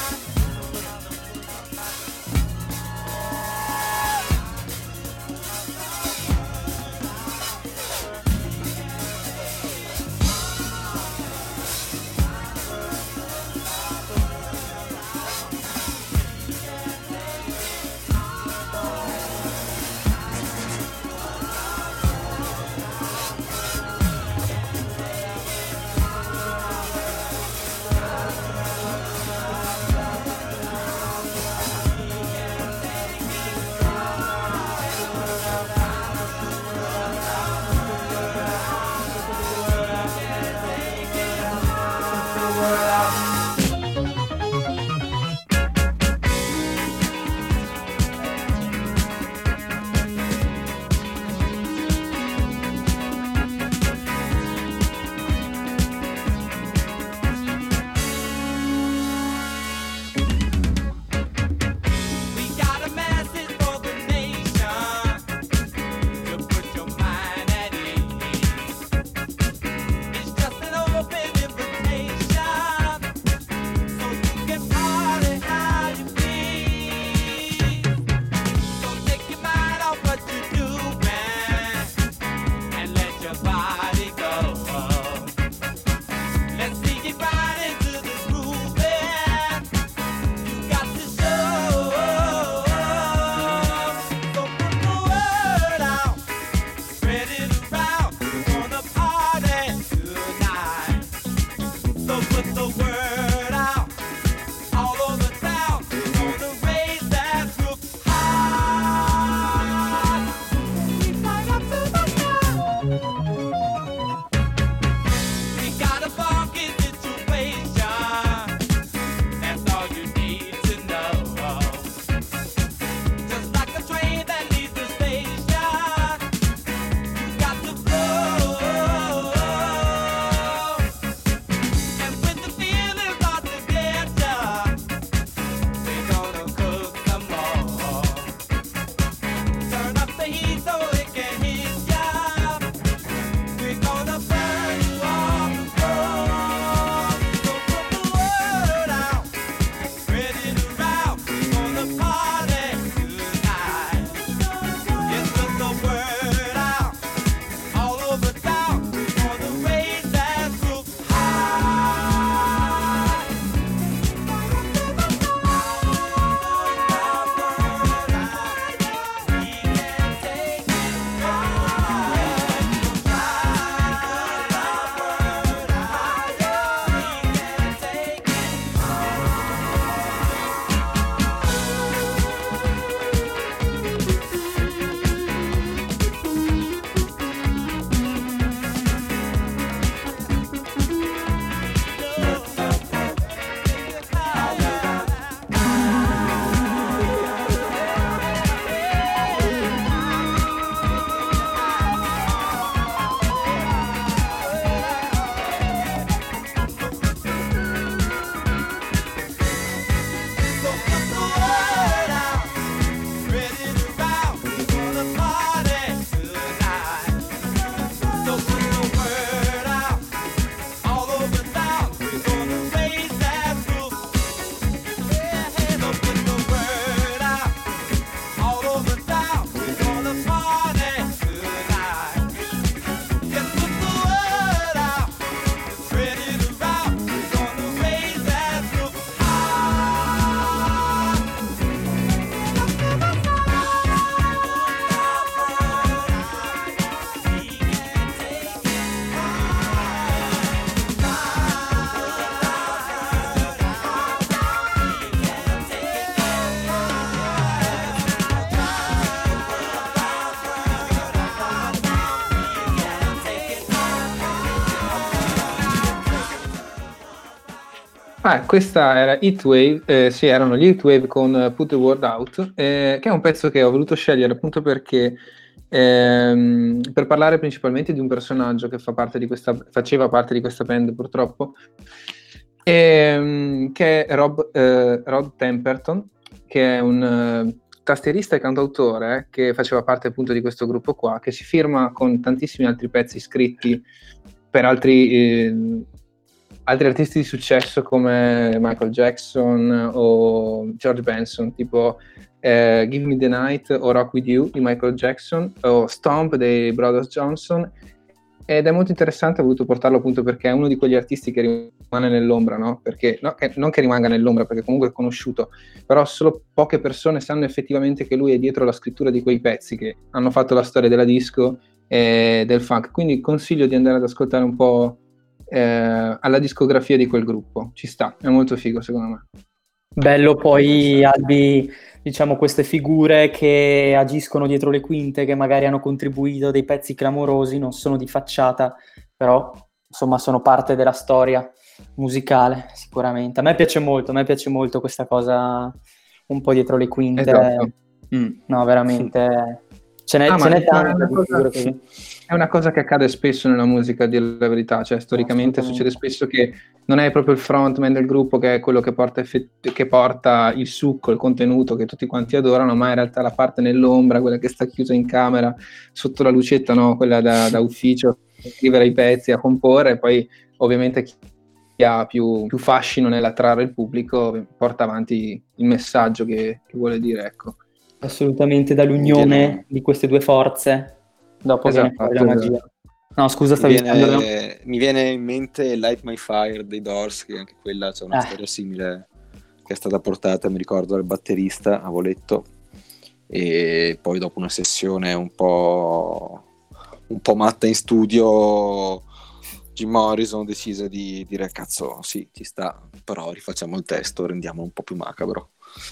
Speaker 1: Ah, questa era Heatwave, eh, sì, erano gli Heatwave con uh, Put the Word Out, eh, che è un pezzo che ho voluto scegliere appunto perché ehm, per parlare principalmente di un personaggio che fa parte di questa, faceva parte di questa band purtroppo, ehm, che è Rob, eh, Rod Temperton, che è un uh, tastierista e cantautore eh, che faceva parte appunto di questo gruppo qua, che si firma con tantissimi altri pezzi scritti per altri... Eh, altri artisti di successo come Michael Jackson o George Benson, tipo eh, Give Me the Night o Rock With You di Michael Jackson o Stomp dei Brothers Johnson, ed è molto interessante, ho voluto portarlo appunto perché è uno di quegli artisti che rimane nell'ombra, no? Perché, no, che, non che rimanga nell'ombra perché comunque è conosciuto, però solo poche persone sanno effettivamente che lui è dietro la scrittura di quei pezzi che hanno fatto la storia della disco e del funk, quindi consiglio di andare ad ascoltare un po' Eh, alla discografia di quel gruppo, ci sta, è molto figo secondo me.
Speaker 6: Bello poi Albi, diciamo, queste figure che agiscono dietro le quinte, che magari hanno contribuito a dei pezzi clamorosi, non sono di facciata, però insomma sono parte della storia musicale sicuramente. A me piace molto, a me piace molto questa cosa un po' dietro le quinte.
Speaker 1: Esatto.
Speaker 6: Mm, no, veramente ce n'è,
Speaker 1: Ah,
Speaker 6: ce
Speaker 1: ma
Speaker 6: n'è tante
Speaker 1: è
Speaker 6: di
Speaker 1: una
Speaker 6: figure
Speaker 1: cosa-
Speaker 6: così.
Speaker 1: È una cosa che accade spesso nella musica, a dire la verità, cioè storicamente succede spesso che non è proprio il frontman del gruppo che è quello che porta, effett- che porta il succo, il contenuto che tutti quanti adorano, ma in realtà la parte nell'ombra, quella che sta chiusa in camera sotto la lucetta, no? Quella da, da ufficio, a scrivere i pezzi, a comporre, e poi ovviamente chi chi ha più, più fascino nell'attrarre il pubblico porta avanti il messaggio che, che vuole dire, ecco.
Speaker 6: Assolutamente, dall'unione di queste due forze dopo viene
Speaker 1: Esatto,
Speaker 6: fuori la magia.
Speaker 1: esatto.
Speaker 6: No, scusa,
Speaker 7: Mi
Speaker 6: stavi
Speaker 7: viene,
Speaker 6: dicendo...
Speaker 7: mi viene in mente Light My Fire dei Doors, che anche quella c'è una
Speaker 6: Eh.
Speaker 7: storia simile che è stata portata, mi ricordo, dal batterista a Voletto, e poi dopo una sessione un po' un po' matta in studio, Jim Morrison decise di dire cazzo sì, ci sta, però rifacciamo il testo, rendiamolo un po' più macabro.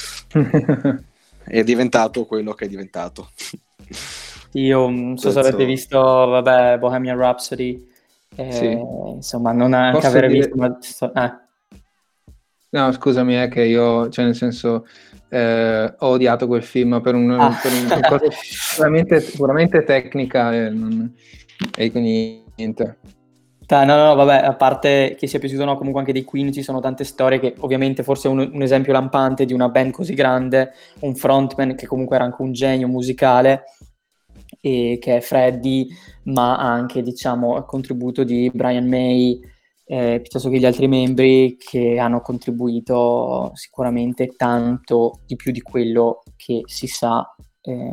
Speaker 7: È diventato quello che è diventato.
Speaker 6: Io non so se
Speaker 7: Penso-
Speaker 6: avete visto, vabbè, Bohemian Rhapsody, eh,
Speaker 1: Sì.
Speaker 6: insomma, non anche
Speaker 1: Posso
Speaker 6: aver
Speaker 1: dire-
Speaker 6: visto, ma... sto- eh.
Speaker 1: No, scusami, è che io, cioè nel senso, eh, ho odiato quel film per, un,
Speaker 6: Ah.
Speaker 1: per un- una cosa puramente, puramente tecnica e, non, e quindi niente.
Speaker 6: Dai, no, no, no, vabbè, a parte che sia piaciuto o no, comunque anche dei Queen ci sono tante storie che ovviamente forse un, un esempio lampante di una band così grande, un frontman che comunque era anche un genio musicale, e che è Freddie, ma anche, diciamo, il contributo di Brian May, eh, piuttosto che gli altri membri che hanno contribuito sicuramente tanto di più di quello che si sa eh,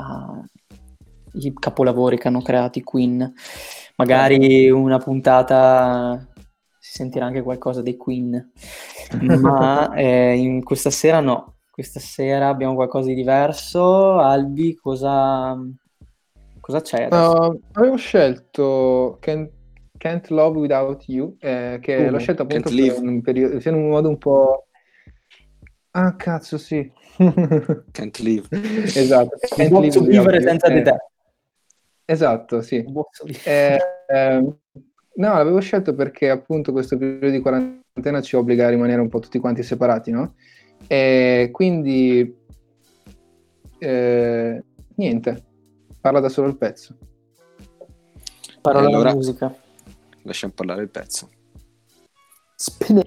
Speaker 6: ai capolavori che hanno creato i Queen. Magari una puntata si sentirà anche qualcosa dei Queen, ma eh, in questa sera no, questa sera abbiamo qualcosa di diverso. Albi, cosa, cosa c'è adesso?
Speaker 1: Uh, avevo scelto Can't, Can't Love Without You, eh, che
Speaker 6: Uh,
Speaker 1: l'ho scelto appunto
Speaker 7: Can't
Speaker 1: per
Speaker 7: Live.
Speaker 1: un periodo, in un modo un po'... Ah, cazzo, sì.
Speaker 7: Can't Live.
Speaker 1: Esatto.
Speaker 6: Non
Speaker 1: Can't
Speaker 6: posso
Speaker 1: Live
Speaker 6: vivere
Speaker 1: Without You.
Speaker 6: senza di
Speaker 1: Eh,
Speaker 6: te.
Speaker 1: Esatto, sì.
Speaker 6: Non posso vivere.
Speaker 1: Eh, ehm, no, l'avevo scelto perché appunto questo periodo di quarantena ci obbliga a rimanere un po' tutti quanti separati, no? E quindi eh, niente, parla da solo il pezzo.
Speaker 6: Parola
Speaker 7: E allora-
Speaker 6: alla musica.
Speaker 7: Lasciamo parlare il pezzo.
Speaker 6: Spine-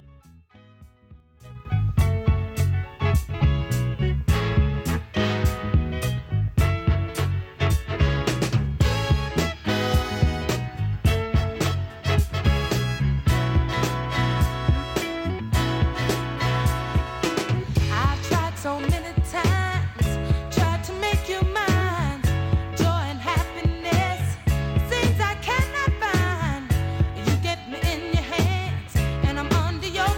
Speaker 14: I've tried so many times, tried to make you mine. Joy and happiness, things I cannot find. You get me in your hands, and I'm under your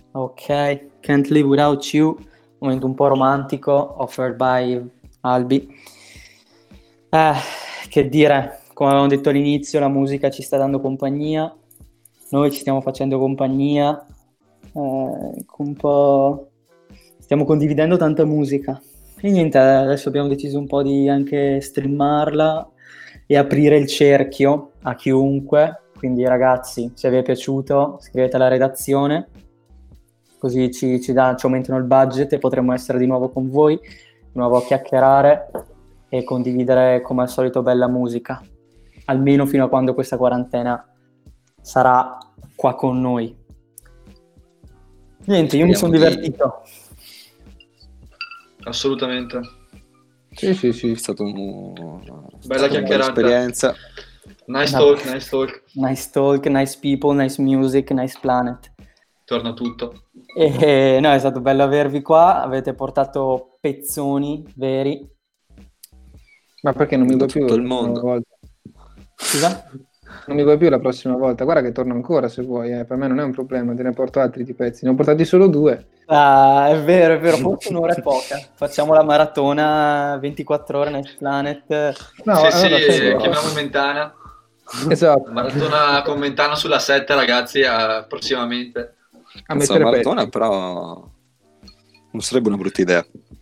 Speaker 6: Ok, Can't Live Without You, momento un po' romantico, offered by Albi. Eh, che dire, come avevamo detto all'inizio, la musica ci sta dando compagnia, noi ci stiamo facendo compagnia, eh, un po' stiamo condividendo tanta musica. E niente, adesso abbiamo deciso un po' di anche streamarla e aprire il cerchio a chiunque. Quindi ragazzi, se vi è piaciuto, scrivete alla redazione, così ci, ci, dà, ci aumentano il budget e potremo essere di nuovo con voi, di nuovo a chiacchierare e condividere come al solito bella musica, almeno fino a quando questa quarantena sarà qua con noi. Niente, io mi sono
Speaker 7: di...
Speaker 6: divertito.
Speaker 8: Assolutamente.
Speaker 1: Sì, sì, sì.
Speaker 7: È stato un...
Speaker 8: bella chiacchierata.
Speaker 7: Esperienza.
Speaker 8: Nice
Speaker 6: No.
Speaker 8: talk, nice talk.
Speaker 6: Nice talk, nice people, nice music, nice planet.
Speaker 8: Torna tutto.
Speaker 6: E no, è stato bello avervi qua, avete portato pezzoni veri.
Speaker 1: Ma perché non mi vuoi più
Speaker 7: tutto il
Speaker 1: la prossima
Speaker 7: mondo.
Speaker 1: volta?
Speaker 6: Scusa?
Speaker 1: Non mi vuoi più la prossima volta? Guarda che torno ancora se vuoi, eh. Per me non è un problema, te ne porto altri di pezzi. Ne ho portati solo due.
Speaker 6: Ah, è vero, è vero, forse un'ora è poca. Facciamo la maratona ventiquattro ore Nice Planet.
Speaker 1: No,
Speaker 8: sì,
Speaker 1: allora
Speaker 8: sì,
Speaker 1: sì.
Speaker 8: chiamiamo Mentana.
Speaker 1: Esatto.
Speaker 8: Maratona con Mentana sulla sette, ragazzi, eh, prossimamente.
Speaker 1: A
Speaker 7: Cazzo,
Speaker 1: mettere
Speaker 7: la maratona
Speaker 1: pezzi.
Speaker 7: però non sarebbe una brutta idea.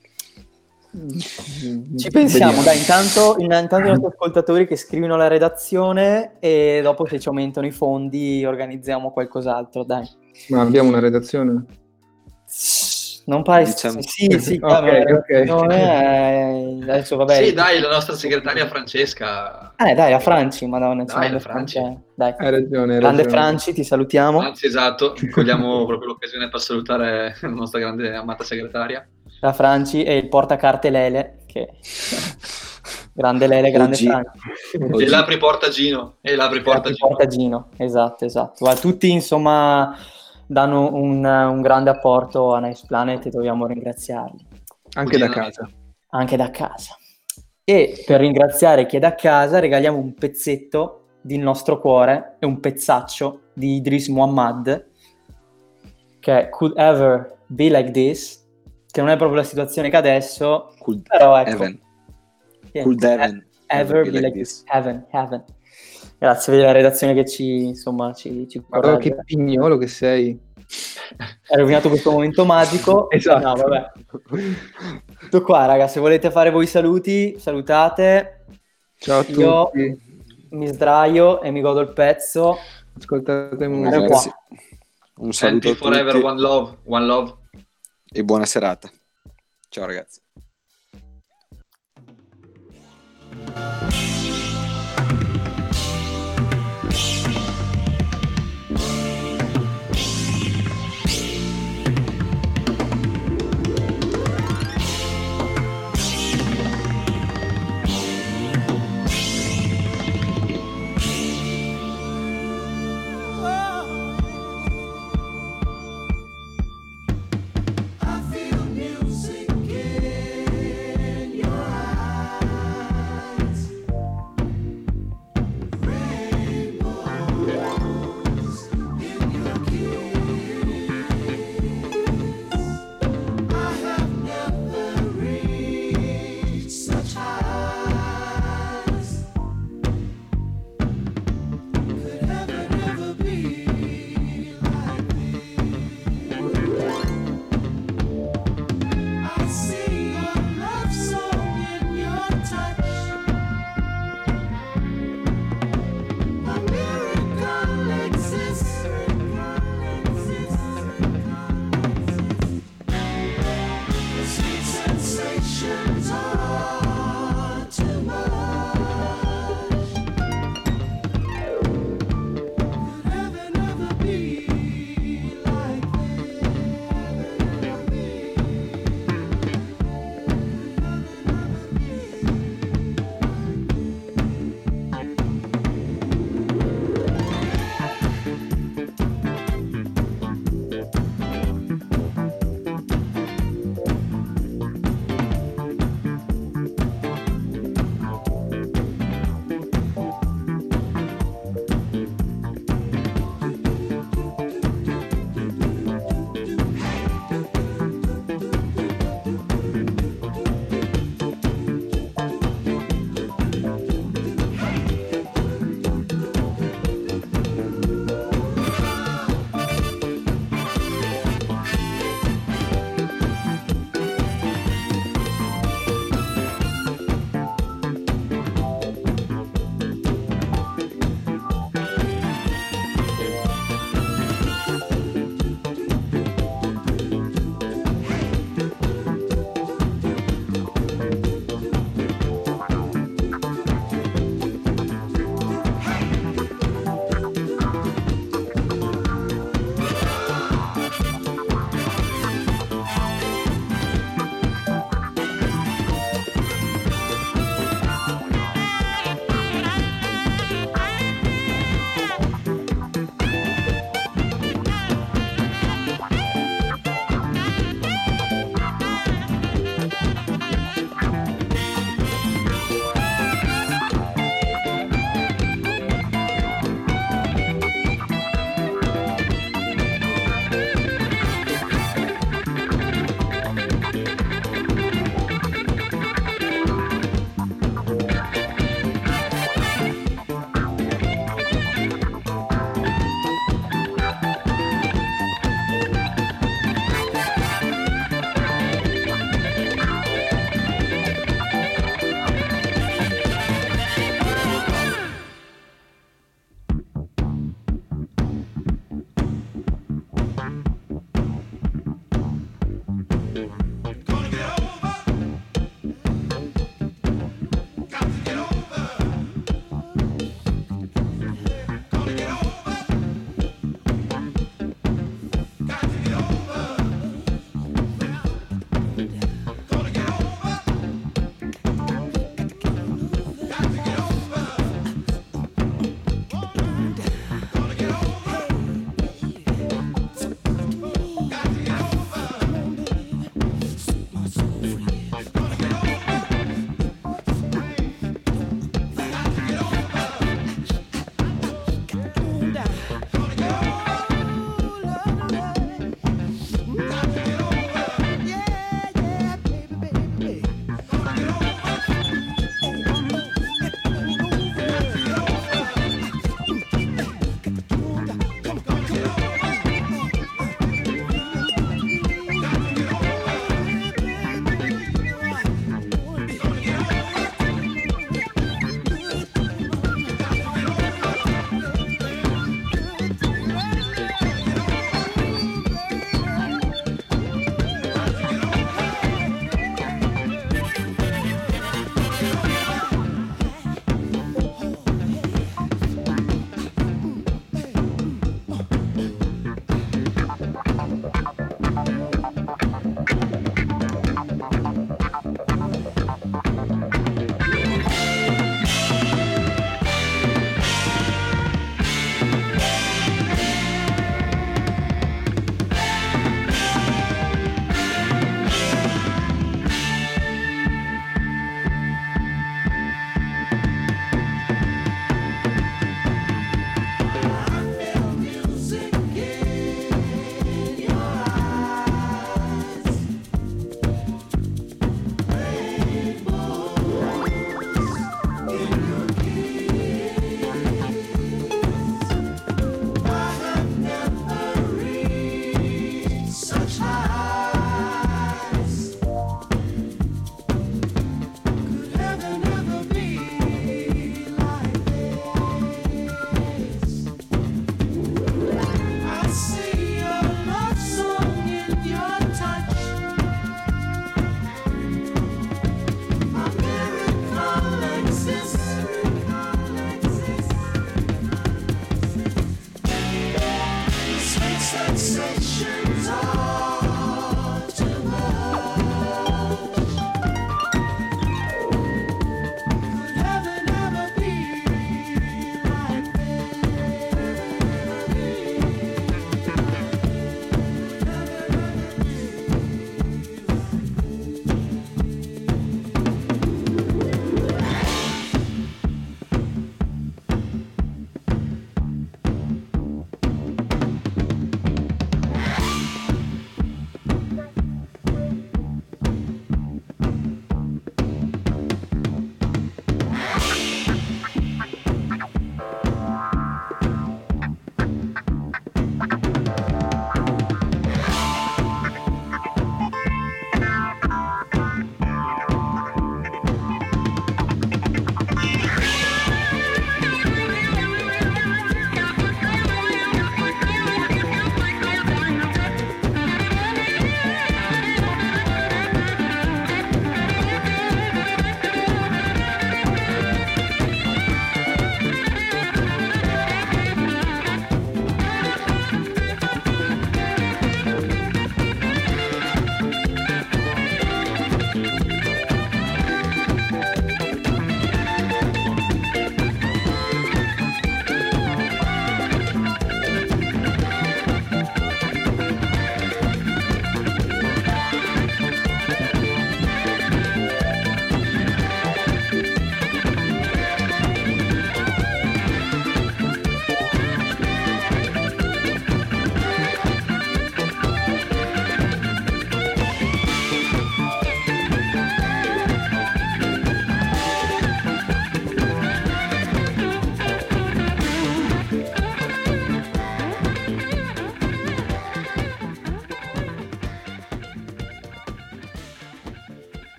Speaker 6: Ci pensiamo, dai, intanto, intanto i nostri ascoltatori che scrivono alla redazione e dopo se ci aumentano i fondi organizziamo qualcos'altro, dai.
Speaker 1: Ma abbiamo una redazione?
Speaker 6: Non pare...
Speaker 7: Diciamo-
Speaker 6: Sì, sì,
Speaker 1: Ok,
Speaker 6: vabbè,
Speaker 1: ok.
Speaker 6: non è- adesso vabbè.
Speaker 8: Sì, dai, la nostra segretaria Francesca.
Speaker 6: Eh, dai, la Franci, madonna,
Speaker 8: Dai,
Speaker 6: grande
Speaker 8: la Franci.
Speaker 6: Franci, dai.
Speaker 1: Hai ragione, hai
Speaker 6: Grande
Speaker 1: ragione.
Speaker 6: Franci, ti salutiamo.
Speaker 8: Anzi, esatto, cogliamo proprio l'occasione per salutare la nostra grande amata segretaria.
Speaker 6: La Franci e il portacarte Lele, che... grande Lele, grande
Speaker 7: O G.
Speaker 6: Franci.
Speaker 8: E l'apri porta Gino. E l'apri porta Gino.
Speaker 6: Porta Gino, esatto, esatto. Guarda, tutti, insomma, danno un, un grande apporto a Nice Planet e dobbiamo ringraziarli.
Speaker 1: Anche da
Speaker 8: Cugina
Speaker 1: casa.
Speaker 6: Anche da casa. E per ringraziare chi è da casa regaliamo un pezzetto del nostro cuore e un pezzaccio di Idris Muhammad che è Could Ever Be Like This, che non è proprio la situazione che adesso,
Speaker 7: Cool
Speaker 6: però ecco.
Speaker 7: Heaven.
Speaker 6: Sì,
Speaker 7: Cool Heaven.
Speaker 6: Ever Be Like This. Heaven, Heaven. Grazie per la redazione che ci, insomma, ci, ci
Speaker 1: Guarda
Speaker 6: corregge.
Speaker 1: che pignolo che sei.
Speaker 6: Hai rovinato questo momento magico.
Speaker 1: Esatto.
Speaker 6: No, vabbè. Tutto qua, raga. Se volete fare voi i saluti, salutate.
Speaker 1: Ciao a
Speaker 6: Io
Speaker 1: tutti.
Speaker 6: mi sdraio e mi godo il pezzo.
Speaker 1: Ascoltate musica.
Speaker 6: Guarda qua.
Speaker 7: Un saluto
Speaker 8: Happy
Speaker 7: a
Speaker 8: forever,
Speaker 7: tutti
Speaker 8: one love, one love.
Speaker 7: e buona serata. Ciao ragazzi.